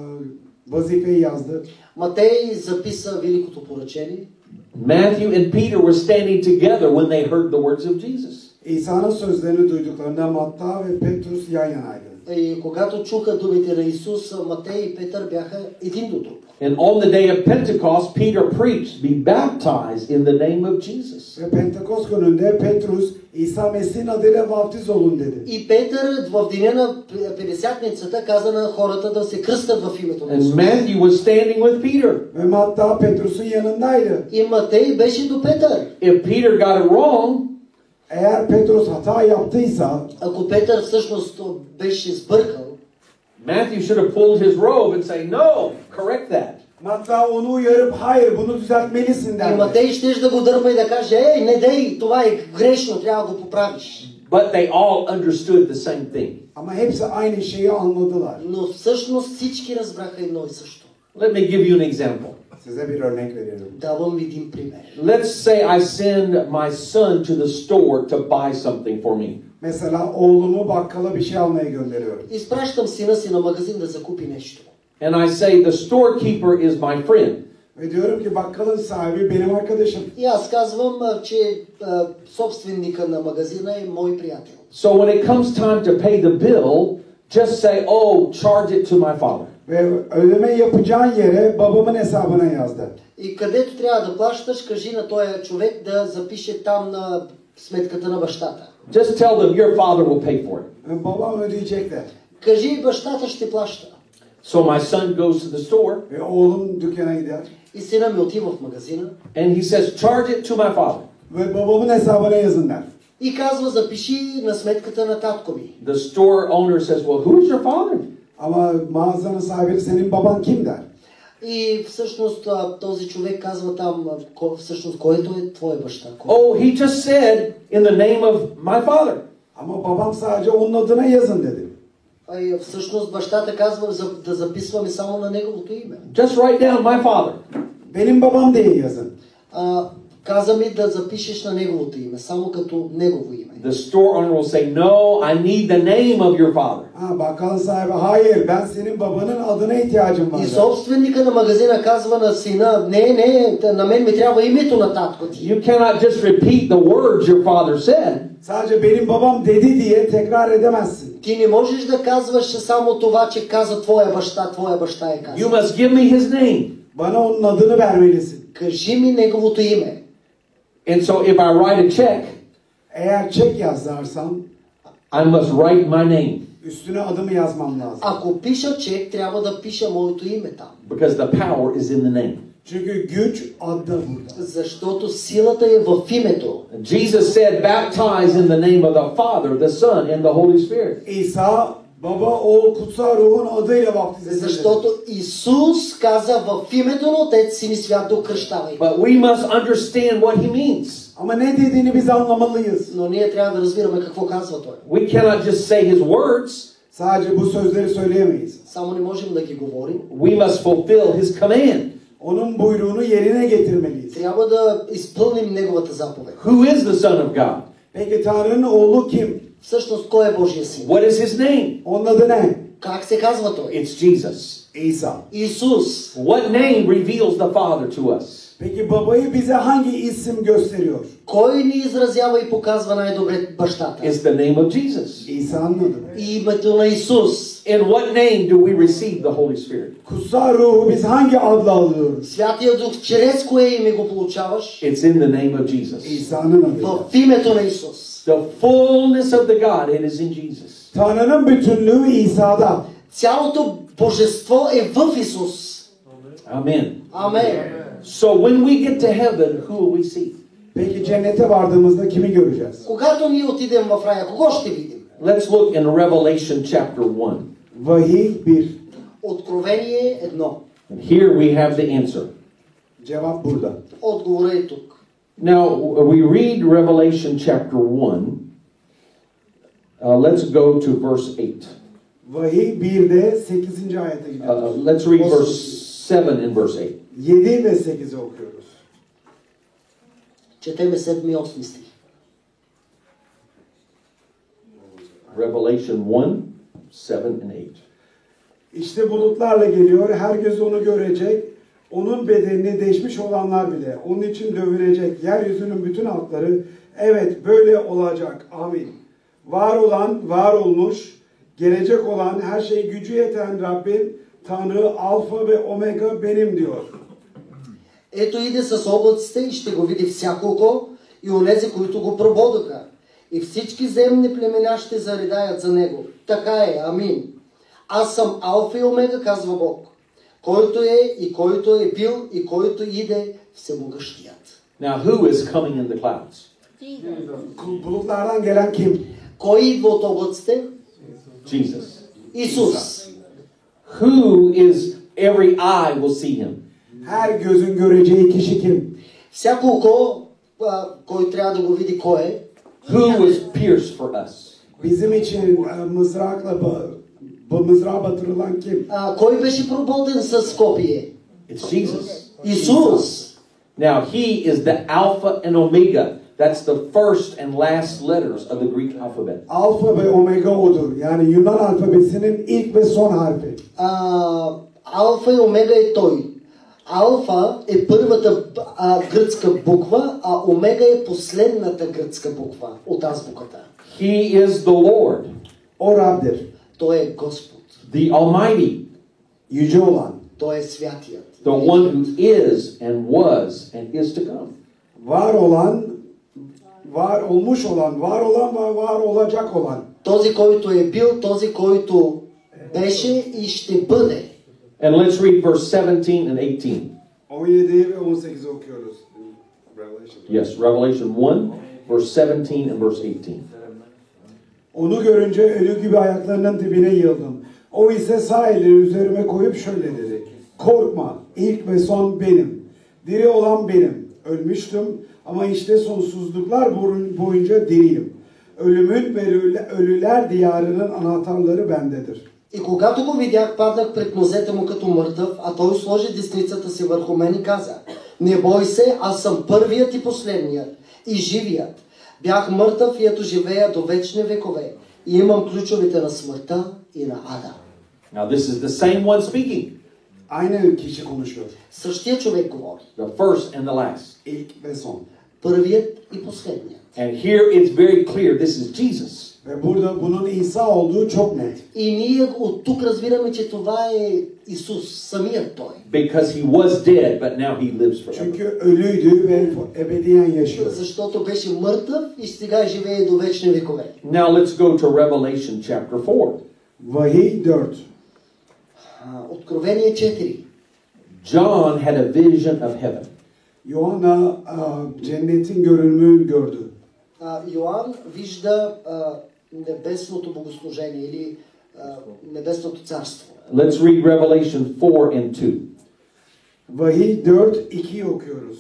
vazifeyi yazdı. Матей записа Великото поръчение. Matthew and Peter were standing together when they heard the words of Jesus. İsa'nın sözlerini duyduklarında Matta ve Petrus yan yanaydı. И когато чуха думите на Исус, Матей и Петър бяха един до друг. And on the day of Pentecost, Peter preached, be baptized in the name of Jesus. Ve Pentekost gününde Petrus İsa Mesih'in adıyla vaftiz olun dedi. И Петър в деня на Петдесятницата каза на хората да се кръстят в името на And Исус. Matthew was standing with Peter. Ve Matta Petrus'un yanındaydı. И Матей беше до Петър. If Peter got it wrong, Eğer Petrus hata yaptıysa Ако Петър всъщност беше сбъркал, Matthew should have pulled his robe and say, no, correct that. Matta onu uyarıp hayır bunu düzeltmelisin и derdi. Матей щеше да го дърпа и да каже, ей, не дей, това е грешно, трябва да го поправиш. But they all understood the same thing. Ama hepsi aynı şeyi anladılar. Но всъщност всички разбраха едно и също. Let me give you an example. Size bir örnek veriyorum. Давам един пример. Let's say I send my son to the store to buy something for me. Mesela oğlumu bakkala bir şey almaya gönderiyorum. Изпращам сина си на магазин да закупи нещо. And I say the storekeeper is my friend. Ve diyorum ki bakkalın sahibi benim arkadaşım. И аз казвам, че собственика на магазина е мой приятел. So when it comes time to pay the bill, just say, oh, charge it to my father. Ve ödeme yapacağın yere babamın hesabına yazdı. И където трябва да плащаш, кажи на този човек да запише там на сметката на бащата. Just tell them your father will pay for it. Ve babam ödeyecek de. Кажи, бащата ще плаща. So my son goes to the store Ve oğlum dükkana gider. И сина ми отива в магазина and he says, charge it to my father. Ve babamın hesabına yazın der. и казва, запиши на сметката на татко ми. The store owner says, well, who's your father? Ama mağazanın sahibi senin baban kim der. И всъщност този човек казва там, всъщност, който е твой баща. Oh, he just said in the name of my father. Ama babam sadece onun adına yazın dedi. И всъщност бащата казва да записваме само на неговото име. Just write down my father. Benim babam diye yazın. Каза ми да запишеш на неговото име, само като негово име. The store owner will say, no, I need the name of your father. Bakkalın sahibi hayır ben senin babanın adına ihtiyacım var. И собственика на магазина казва на сина, не, на мен ми трябва името на татко ти. You cannot just repeat the words your father said. Sadece benim babam dedi diye tekrar edemezsin. Ти не можеш да казваш само това, че каза твоя баща е казал. You must give me his name. Bana onun adını vermelisin. Кажи ми неговото име. And so if I write a check, Eğer çek yazarsam I must write my name. üstüne adımı yazmam lazım. Ако пиша чек, трябва да пиша моето име там. Because the power is in the name. Çünkü güç adda burada. Защото силата е в името. Jesus said, baptize in the name of the Father, the Son, and the Holy Spirit. İsa baba, oğul, kutsal ruhun adıyla vaftiz edilir. Защото Исус каза в името на Отец, Син и Свят да кръщавай. But we must understand what he means. Ama ne dediğini biz anlamalıyız. Но ние трябва да разбираме какво казва Той. We cannot just say his words. Sadece bu sözleri söyleyemeyiz. Само не можем да ги говорим. We must fulfill his command. Onun buyruğunu yerine getirmeliyiz. Трябва да изпълним Неговата заповед. Who is the Son of God? Peki Tanrı'nın oğlu kim? Всъщност, кой е Божия Син? What is his name? Onun adı ne? Как се казва Той? It's Jesus. İsa. Исус. What name reveals the Father to us? Peki babayı bize hangi isim gösteriyor? Кой ни изразява и показва най-добре бащата? It's the name of Jesus. İsa'nın adı. Името на Исус. In what name do we receive the Holy Spirit? Kutsal ruhu biz hangi adla alıyoruz? Святия Дух, чрез кое име го получаваш? It's in the name of Jesus. İsa'nın adıyla. В името на Исус. The fullness of the Godhead is in Jesus. Tanrı'nın bütünlüğü İsa'da. Цялото божество е в Исус. Amen. Амен. So when we get to heaven, who will we see? Peki cennete vardığımızda kimi göreceğiz? Когато ние отидем в рая, кого ще видим? Let's look in Revelation chapter 1. Vahiy 1. Откровение 1. And here we have the answer. Cevap burada. Отговорът е тук. Now, we read Revelation chapter 1. Let's go to verse 8. Vahiy 1'de 8. ayete gidiyoruz. Let's read verse 7 and verse 8. 7 ve 8'i okuyoruz. Четеме 7 и 8 стих. Revelation 1, 7 and 8. İşte bulutlarla geliyor, herkes onu görecek. Onun bedenini deşmiş olanlar bile onun için dövünecek. Yeryüzünün bütün halkları evet böyle olacak. Amin. Var olan, var olmuş, gelecek olan, her şeye gücü yeten Rabbim, Tanrı, Alfa ve Omega benim diyor. Ето иде с облаците и ще го види всяко око и онези, които го прободаха. И всички земни племена ще заредаят за него. Така е, амин. Аз съм Алфа и Омега, казва Бог. Който е и който е бил и който иде, всемогъщият. Now, who is coming in the clouds? Bulutlardan gelen kim? Кой идва от облаците? Jesus. Исус. Who is every eye will see him? Her gözün göreceği kişi kim? Всяко око, кой трябва да го види кой е? Who was pierced for us? Bizim için mızrağa batırılan kim? Кой беше прободен с копие? It's Jesus. Исус. Now, he is the Alpha and Omega. That's the first and last letters of the Greek alphabet. Alfa ve Omega odur. Yani Yunan alfabesinin ilk ve son harfi. Алфа и Омега е той. Алфа е първата гръцка буква, а Омега е последната гръцка буква от азбуката. He is the Lord, O Rab'dir. Той е Господ. the Almighty, Yüce olan. Той е святият. the one who is and was and is to come. Var olan, var olmuş olan, var olan ve var olacak olan. Този, който е бил, този, който беше и ще бъде. And let's read verse 17 and 18. 17 ve 18 okuyoruz. Revelation. Yes, Revelation 1, verse 17 and verse 18. Onu görünce ölü gibi ayaklarının dibine yıldım. O ise sağ elini üzerime koyup şöyle dedi. Korkma, ilk ve son benim. Diri olan benim. Ölmüştüm ama işte sonsuzluklar boyunca diriyim. Ölümün ve ölüler diyarının anahtarları bendedir. И когато го видях, паднах пред нозете му като мъртъв, а той сложи десницата си върху мен и каза: не бой се, аз съм първият и последният, и живият. Бях мъртъв и ето живея до вечни векове. И имам ключовете на смъртта и на ада. Now, this is the same one speaking, Aynı kişi konuşuyor. Същия човек говори. the first and the last. İlk ve son. Първият и последният. And here it's very clear this is Jesus. Ve burada bunun İsa olduğu çok net. И ние от тук разбираме, че това е Исус, самият Той. Because he was dead, but now he lives forever. Çünkü ölüydü ve ebediyen yaşıyor. Защото беше мъртъв и сега живее до вечни векове. Now let's go to Revelation chapter 4. Vahiy 4. Откровение 4. John had a vision of heaven. Yohanna cennetin görünümünü gördü. Йоан вижда небесното богослужение или небесното царство. Let's read Revelation 4 and 2. Vahiy 4, 2'yi okuyoruz.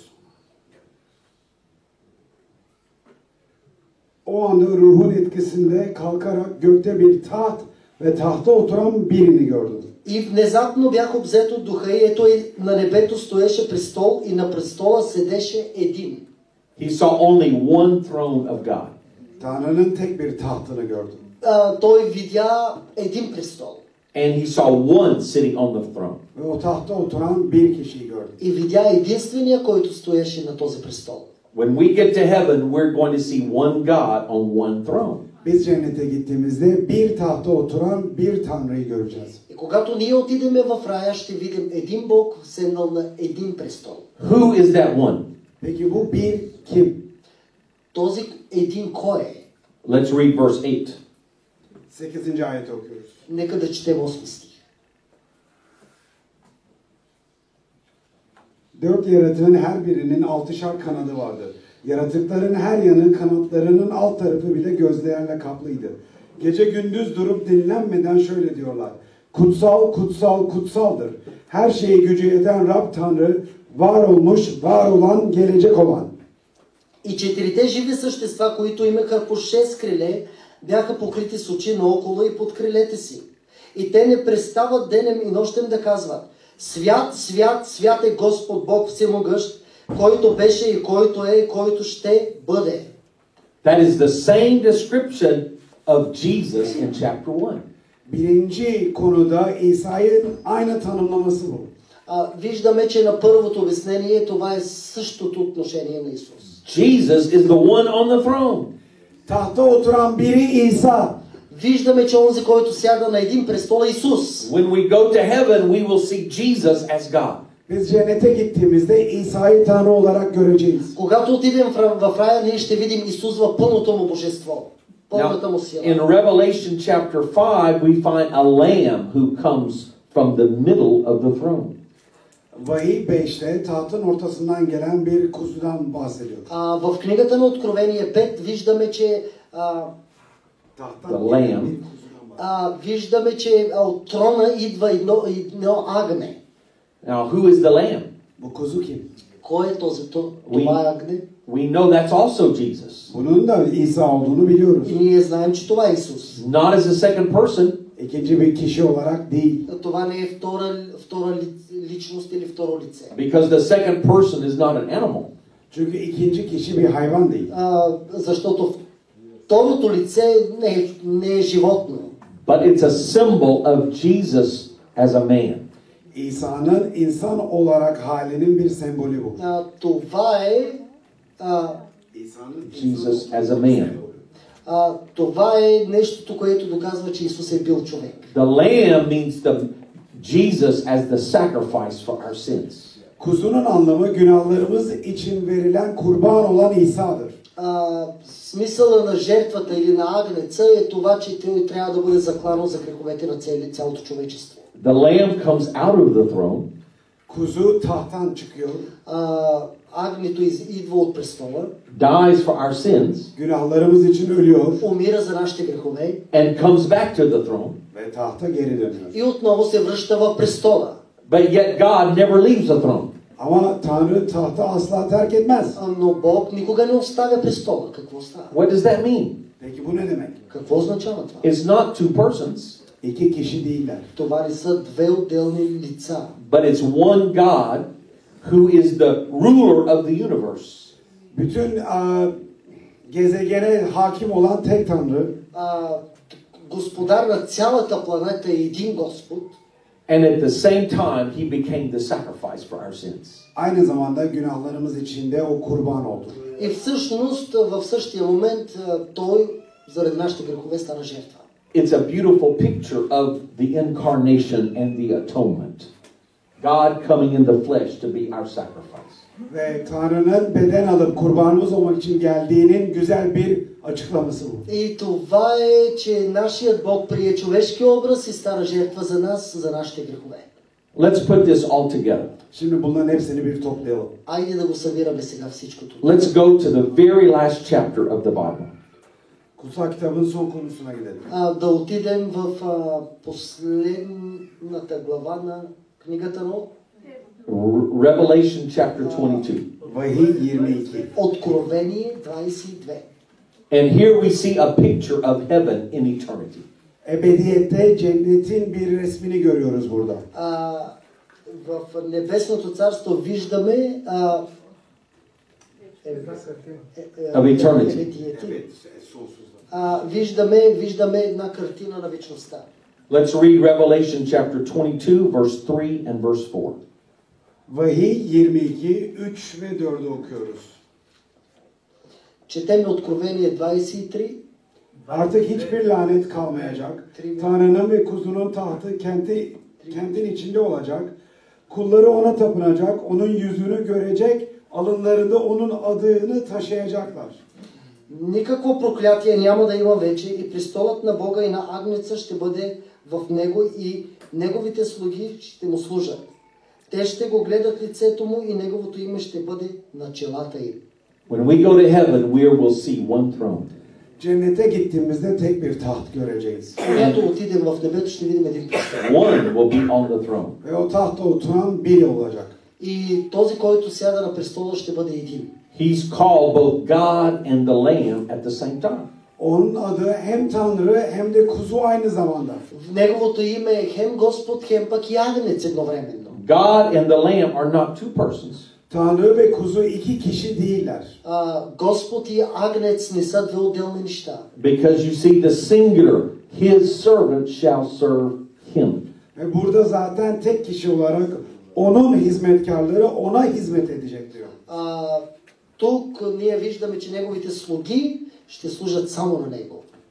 O anda ruhun etkisinde kalkarak gökte bir taht ve tahta oturan birini gördüm. И внезапно бях обзет от духа и ето и на небето стоеше престол и на престола седеше един. He saw only one throne of God. Tanrı'nın tek bir tahtını gördüm. Той видя един престол. And he saw one sitting on the throne. Ve o tahta oturan bir kişiyi gördüm. И видя единствения, който стоеше на този престол. When we get to heaven, we're going to see one God on one throne. Biz cennete gittiğimizde bir tahta oturan bir Tanrı'yı göreceğiz. И когато ние отидеме в рая, ще видим един Бог седнал на един престол. Who is that one? Peki bu bir kim? Този един кой е? Let's read verse 8. 8. ayeti okuyoruz. Нека да четем 8 стих. 4 yaratığın her birinin 6'şar kanadı vardı. Yaratıkların her yanı kanatlarının alt tarafı bile gözlerle kaplıydı. Gece gündüz durup dinlenmeden şöyle diyorlar. Kutsal, kutsal, kutsaldır. Her şeye gücü yeten Rab Tanrı, var olmuş, var olan, gelecek olan. И четирите живи същества, които имаха по 6 криле, бяха покрити с очи наоколо и под крилете си. И те не престават денем и нощем да казват: Свят, свят, свят е Господ Бог Всемогъщ, който беше и който е и който ще бъде. That is the same description of Jesus in chapter 1. Birinci konuda İsa'nın aynı tanımlaması bu. Виждаме, че на първото обяснение това е същото отношение на Исус. Jesus is the one on the throne. Tahta oturan biri İsa. виждаме, че онзи, който сяда на един престол е Исус. When we go to heaven, we will see Jesus as God. Biz cennete gittiğimizde İsa'yı Tanrı olarak göreceğiz. Когато отидем в рая, ние ще видим Исус в пълното му божество, пълната му In сила. Revelation chapter 5, we find a lamb who comes from the middle of the throne. Vahiy 5'te tahtın ortasından gelen bir kuzudan bahsediyor. В книгата на Откровение 5 виждаме, че Tahttan The gelen lamb. bir kuzudan bahsediyor. виждаме, че от трона идва едно агне. Now, who is the lamb? Bu kuzu kim? Кой е този? Това е агне. We know that's also Jesus. Bunun da İsa olduğunu biliyoruz. И ние знаем, че това е Исус. Not as a second person, İkinci bir kişi olarak değil. Това не е втора личност или второ лице. because the second person is not an animal. Çünkü ikinci kişi bir hayvan değil. Защото второто лице не е животно. But it's a symbol of Jesus as a man. İsa'nın insan olarak halinin bir sembolü bu. Това е İsa'nın Jesus as a man. Това е нещото, което доказва, че Исус е бил човек. The lamb means the Jesus as the sacrifice for our sins. Kuzunun anlamı günahlarımız için verilen kurban olan İsa'dır. Смисъла на жертвата или на агнеца е това, че той трябва да бъде заклано за греховете на цялото човечество. The lamb comes out of the throne. Kuzu tahttan çıkıyor. Агнето идва от престола, Dies for our sins. Günahlarımız için ölüyor умира за нашите грехове And comes back to the throne. ve tahta geri dönüyor. и отново се връща в престола. But yet God never leaves the throne. Ama Tanrı tahta asla terk etmez. Но Бог никога не оставя престола. Какво става? What does that mean? Peki bu ne demek? Какво означава това? It's not two persons, İki kişi değiller. Това не са две отделни лица. but it's one God who is the ruler of the universe. Bütün gezegene hakim olan tek Tanrı Господар на цялата планета е един Господ. And at the same time, he became the sacrifice for our sins. aynı zamanda günahlarımız için de o kurban oldu. И всъщност в същия момент той заради нашите грехове стана жертва. It's a beautiful picture of the incarnation and the atonement. God coming in the flesh to be our sacrifice. Ve Tanrı'nın beden alıp kurbanımız olmak için geldiğinin güzel bir açıklaması bu. И това е, че нашият Бог прие човешки образ и стана жертва за нас, за нашите грехове. Let's put this all together. Şimdi bunların hepsini bir toplayalım. Айде да го събираме сега всичко това. Let's go to the very last chapter of the Bible. Kutsal kitabın son konusuna gidelim. Да отидем в последната глава на книгата на Revelation chapter 22. Vahiy 22. Откровение 22. And here we see a picture of heaven in eternity. Ebediyette cennetin bir resmini görüyoruz burada. В Небесното царство виждаме Of eternity. Виждаме една картина на вечността. Let's read Revelation chapter 22, verse 3 and verse 4. Vahiy 22, 3 ve 4'ü okuyoruz. Четем Откровение 23. Artık hiçbir lanet kalmayacak. Tanrı'nın ve kuzunun tahtı kentin içinde olacak. Kulları ona tapınacak, onun yüzünü görecek, alınlarında onun adını taşıyacaklar. Никакво проклятие няма да има вече и престолът на Бога и на Агнеца ще бъде в него и неговите слуги ще му служат. Те ще го гледат лицето му и неговото име ще бъде на челата им. When we go to heaven, we will see one throne. Cennete gittiğimizde tek bir taht göreceğiz. Когато отидем в небето, ще видим един престол. One will be on the throne. Ve o tahtta oturan biri olacak. И този, който сяда на престола, ще бъде един. He's called both God and the Lamb at the same time. Onun adı hem Tanrı hem de kuzu aynı zamanda. В неговото име е хем Господ, хем пък и Агнец едновременно. God and the Lamb are not two persons. Tanrı ve kuzu iki kişi değiller. Господ и Агнец не са две отделни неща. Because you see the singular, his servant shall serve him. Ve burada zaten tek kişi olarak onun hizmetkarları ona hizmet edecek diyor. Тук ние виждаме, че неговите слуги ще служат само на него.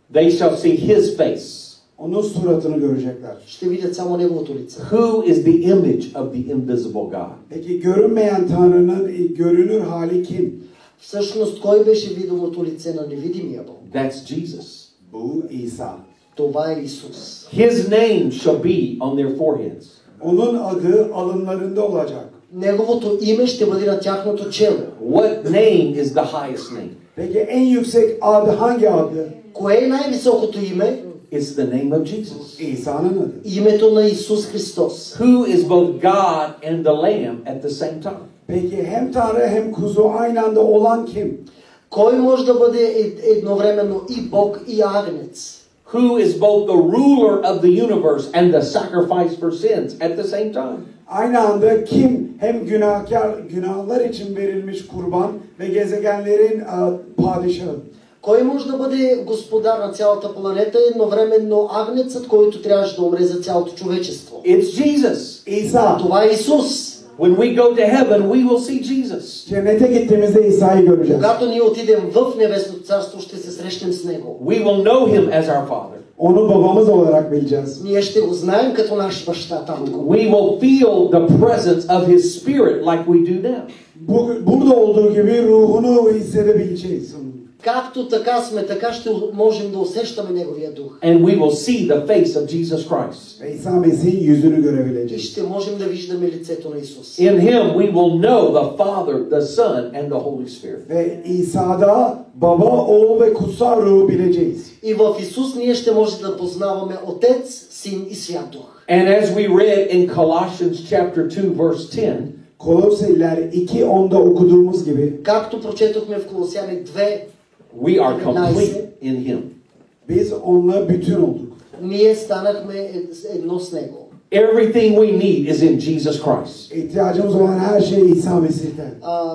They shall see his face. Onun suratını görecekler. Ще видят само неговото лице. Who is the image of the invisible God? Peki görünmeyen Tanrı'nın görünür hali kim? Всъщност, кой беше видимото лице на невидимия Бог? That's Jesus. Bu İsa. Това е Исус. His name shall be on their foreheads. Onun adı alınlarında olacak. Неговото име ще бъде на тяхното чело. What name is the highest name? Peki en yüksek adı hangi adı? Кое е най-високото име? It's the name of Jesus. İsa'nın adı. Името на Исус Христос. Who is both God and the Lamb at the same time? Peki hem Tanrı hem kuzu aynı anda olan kim? Кой може да бъде едновременно и Бог и Агнец? Who is both the ruler of the universe and the sacrifice for sins at the same time? Aynı anda kim hem günahlar için verilmiş kurban ve gezegenlerin padişahı? Кой може да бъде господар на цялата планета и едновременно Агнецът, който трябваше да умре за цялото човечество? It's Jesus. İsa. Това е Исус. When we go to heaven, we will see Jesus. Cennete gittiğimizde İsa'yı göreceğiz. Когато ние отидем в Небесното царство, ще се срещнем с Него. We will know him as our Father. Onu babamız olarak bileceğiz. Ние ще го знаем като наш баща, татко. We will feel the presence of his spirit like we do now. Burada olduğu gibi ruhunu hissedebileceğiz. Както така сме, така ще можем да усещаме Неговия дух. And we will see the face of Jesus Christ. Ve İsa Mesih'in yüzünü И görebileceğiz. ще можем да виждаме лицето на Исус. In him we will know the Father, the Son, and the Holy Spirit. Ve İsa'da baba, oğul ve kutsal ruhu bileceğiz. И в Исус ние ще може да познаваме Отец, Син и Свят Дух. And as we read in Colossians chapter 2 verse 10, Koloseliler 2:10'da okuduğumuz gibi Както прочетохме в Колосяни 2, we are complete in him. biz onunla bütün olduk. ние станахме едно с Него. Everything we need is in Jesus Christ. İhtiyacımız olan her şey İsa Mesih'ten.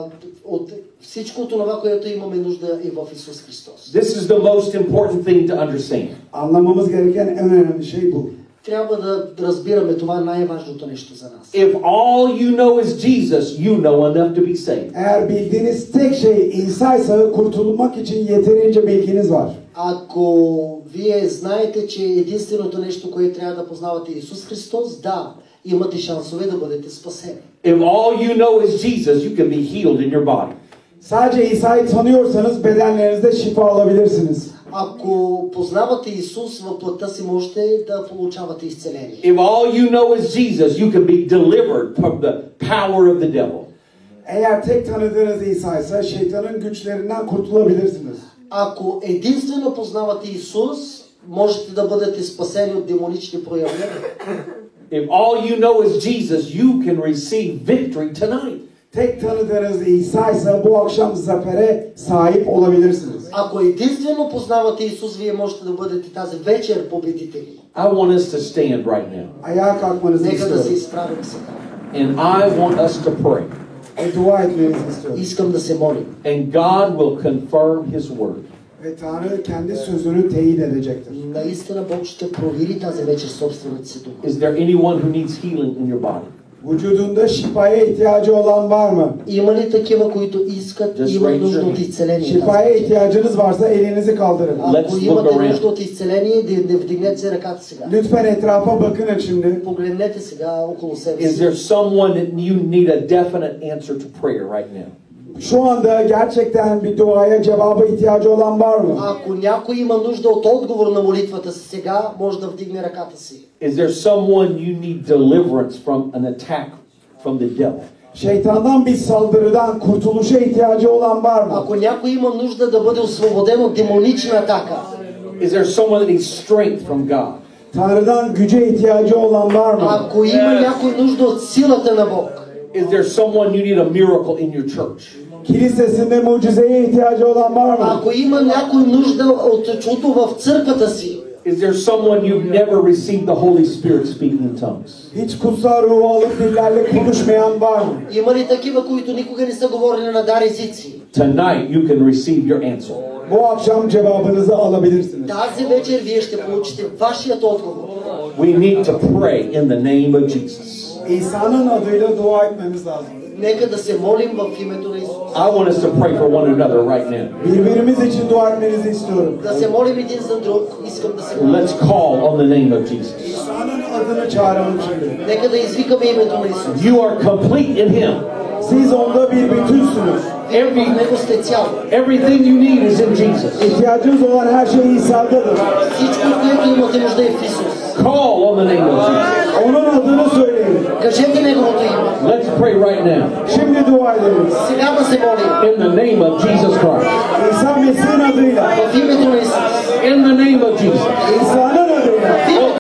От всичко това, което имаме нужда е в Исус Христос. This is the most important thing to understand. Anlamamız gereken en önemli şey bu. Трябва да разбираме това най-важното нещо за нас. If all you know is Jesus, you know enough to be saved. Eğer bildiğiniz tek şey İsa'ysa kurtulmak için yeterince bilginiz var. Ако вие знаете, че единственото нещо, което трябва да познавате е Исус Христос, да, имате шансове да бъдете спасени. If all you know is Jesus, you can be healed in your body. Sadece İsa'yı tanıyorsanız bedenlerinizde şifa alabilirsiniz. Ако познавате Исус в плътта си, можете да получавате изцеление. If all you know is Jesus, you can be delivered from the power of the devil. Eğer tek tanıdığınız İsa'ysa şeytanın güçlerinden kurtulabilirsiniz. Ако единствено познавате Исус, можете да бъдете спасени от демонични проявления. If all you know is Jesus, you can receive victory tonight. Tek tanıdığınız İsa'ysa bu akşam zafere sahip olabilirsiniz. Ако единствено познавате Исус, вие можете да бъдете тази вечер победители. I want us to stand right now. Ayağa kalkmanızı Нека да се istiyorum. изправим сега. And I want us to pray. Ve dua etmenizi istiyorum. Искам да се молим. And God will confirm his word. Ve Tanrı kendi sözünü teyit edecektir. Наистина Бог ще провери тази вечер собствената си дума. Is there anyone who needs healing in your body? Vücudunda şifaya ihtiyacı olan var mı? Има ли такива, които искат, Just имат raise нужда your от hand. изцеление? Şifaya ihtiyacınız varsa elinizi kaldırın. Ако Let's look имате around. нужда от изцеление, да вдигнете се ръката сега. Lütfen etrafa bakın şimdi. Погледнете сега около себе Is си. there someone that you need a definite answer to prayer right now? Şu anda gerçekten bir duaya cevaba ihtiyacı olan var mı? Ако някой има нужда от отговор на молитвата си сега, може да вдигне ръката си. Is there someone you need deliverance from an attack from the devil? Şeytandan bir saldırıdan kurtuluşa ihtiyacı olan var mı? Ако някой има нужда да бъде освободен от демонична атака, Is there someone that needs strength from God? Tanrı'dan güce ihtiyacı olan var mı? ако има някой нужда от силата на Бог, Is there someone you need a miracle in your church? Kilisesinde mucizeye ihtiyacı olan var mı? ако има някой нужда от чудо в църквата си, Is there someone you've never received the Holy Spirit speaking in tongues? Hiç kutsal ruhu alıp dillerle konuşmayan var mı? има ли такива, които никога не са говорили на дар езици? Tonight you can receive your answer. Bu akşam cevabınızı alabilirsiniz. Тази вечер вие ще получите вашият отговор. We need to pray in the name of Jesus. İsa'nın adıyla dua etmemiz lazım. Нека да се молим в името на Исус. I want us to pray for one another right now. Birbirimiz için dua etmenizi istiyorum. Да се молим един за друг. Искам да се молим. Let's call on the name of Jesus. İsa'nın adını çağıralım şimdi. Нека да извикаме името на Исус. You are complete in Him. Siz onda bir bütünsünüz. Вие в Него сте цяло. Everything you need is in Jesus. İhtiyacınız olan her şey İsa'dadır. Всичко, от което имате нужда е в Исус. Call on the name of Jesus. Onun adını söyleyin. Кажете Неговото име. Let's pray right now. Şimdi dua edelim. Сега да се молим. In the name of Jesus Christ. İsa Mesih'in adıyla. В името на Исус. In the name of Jesus. İsa'nın adıyla. В името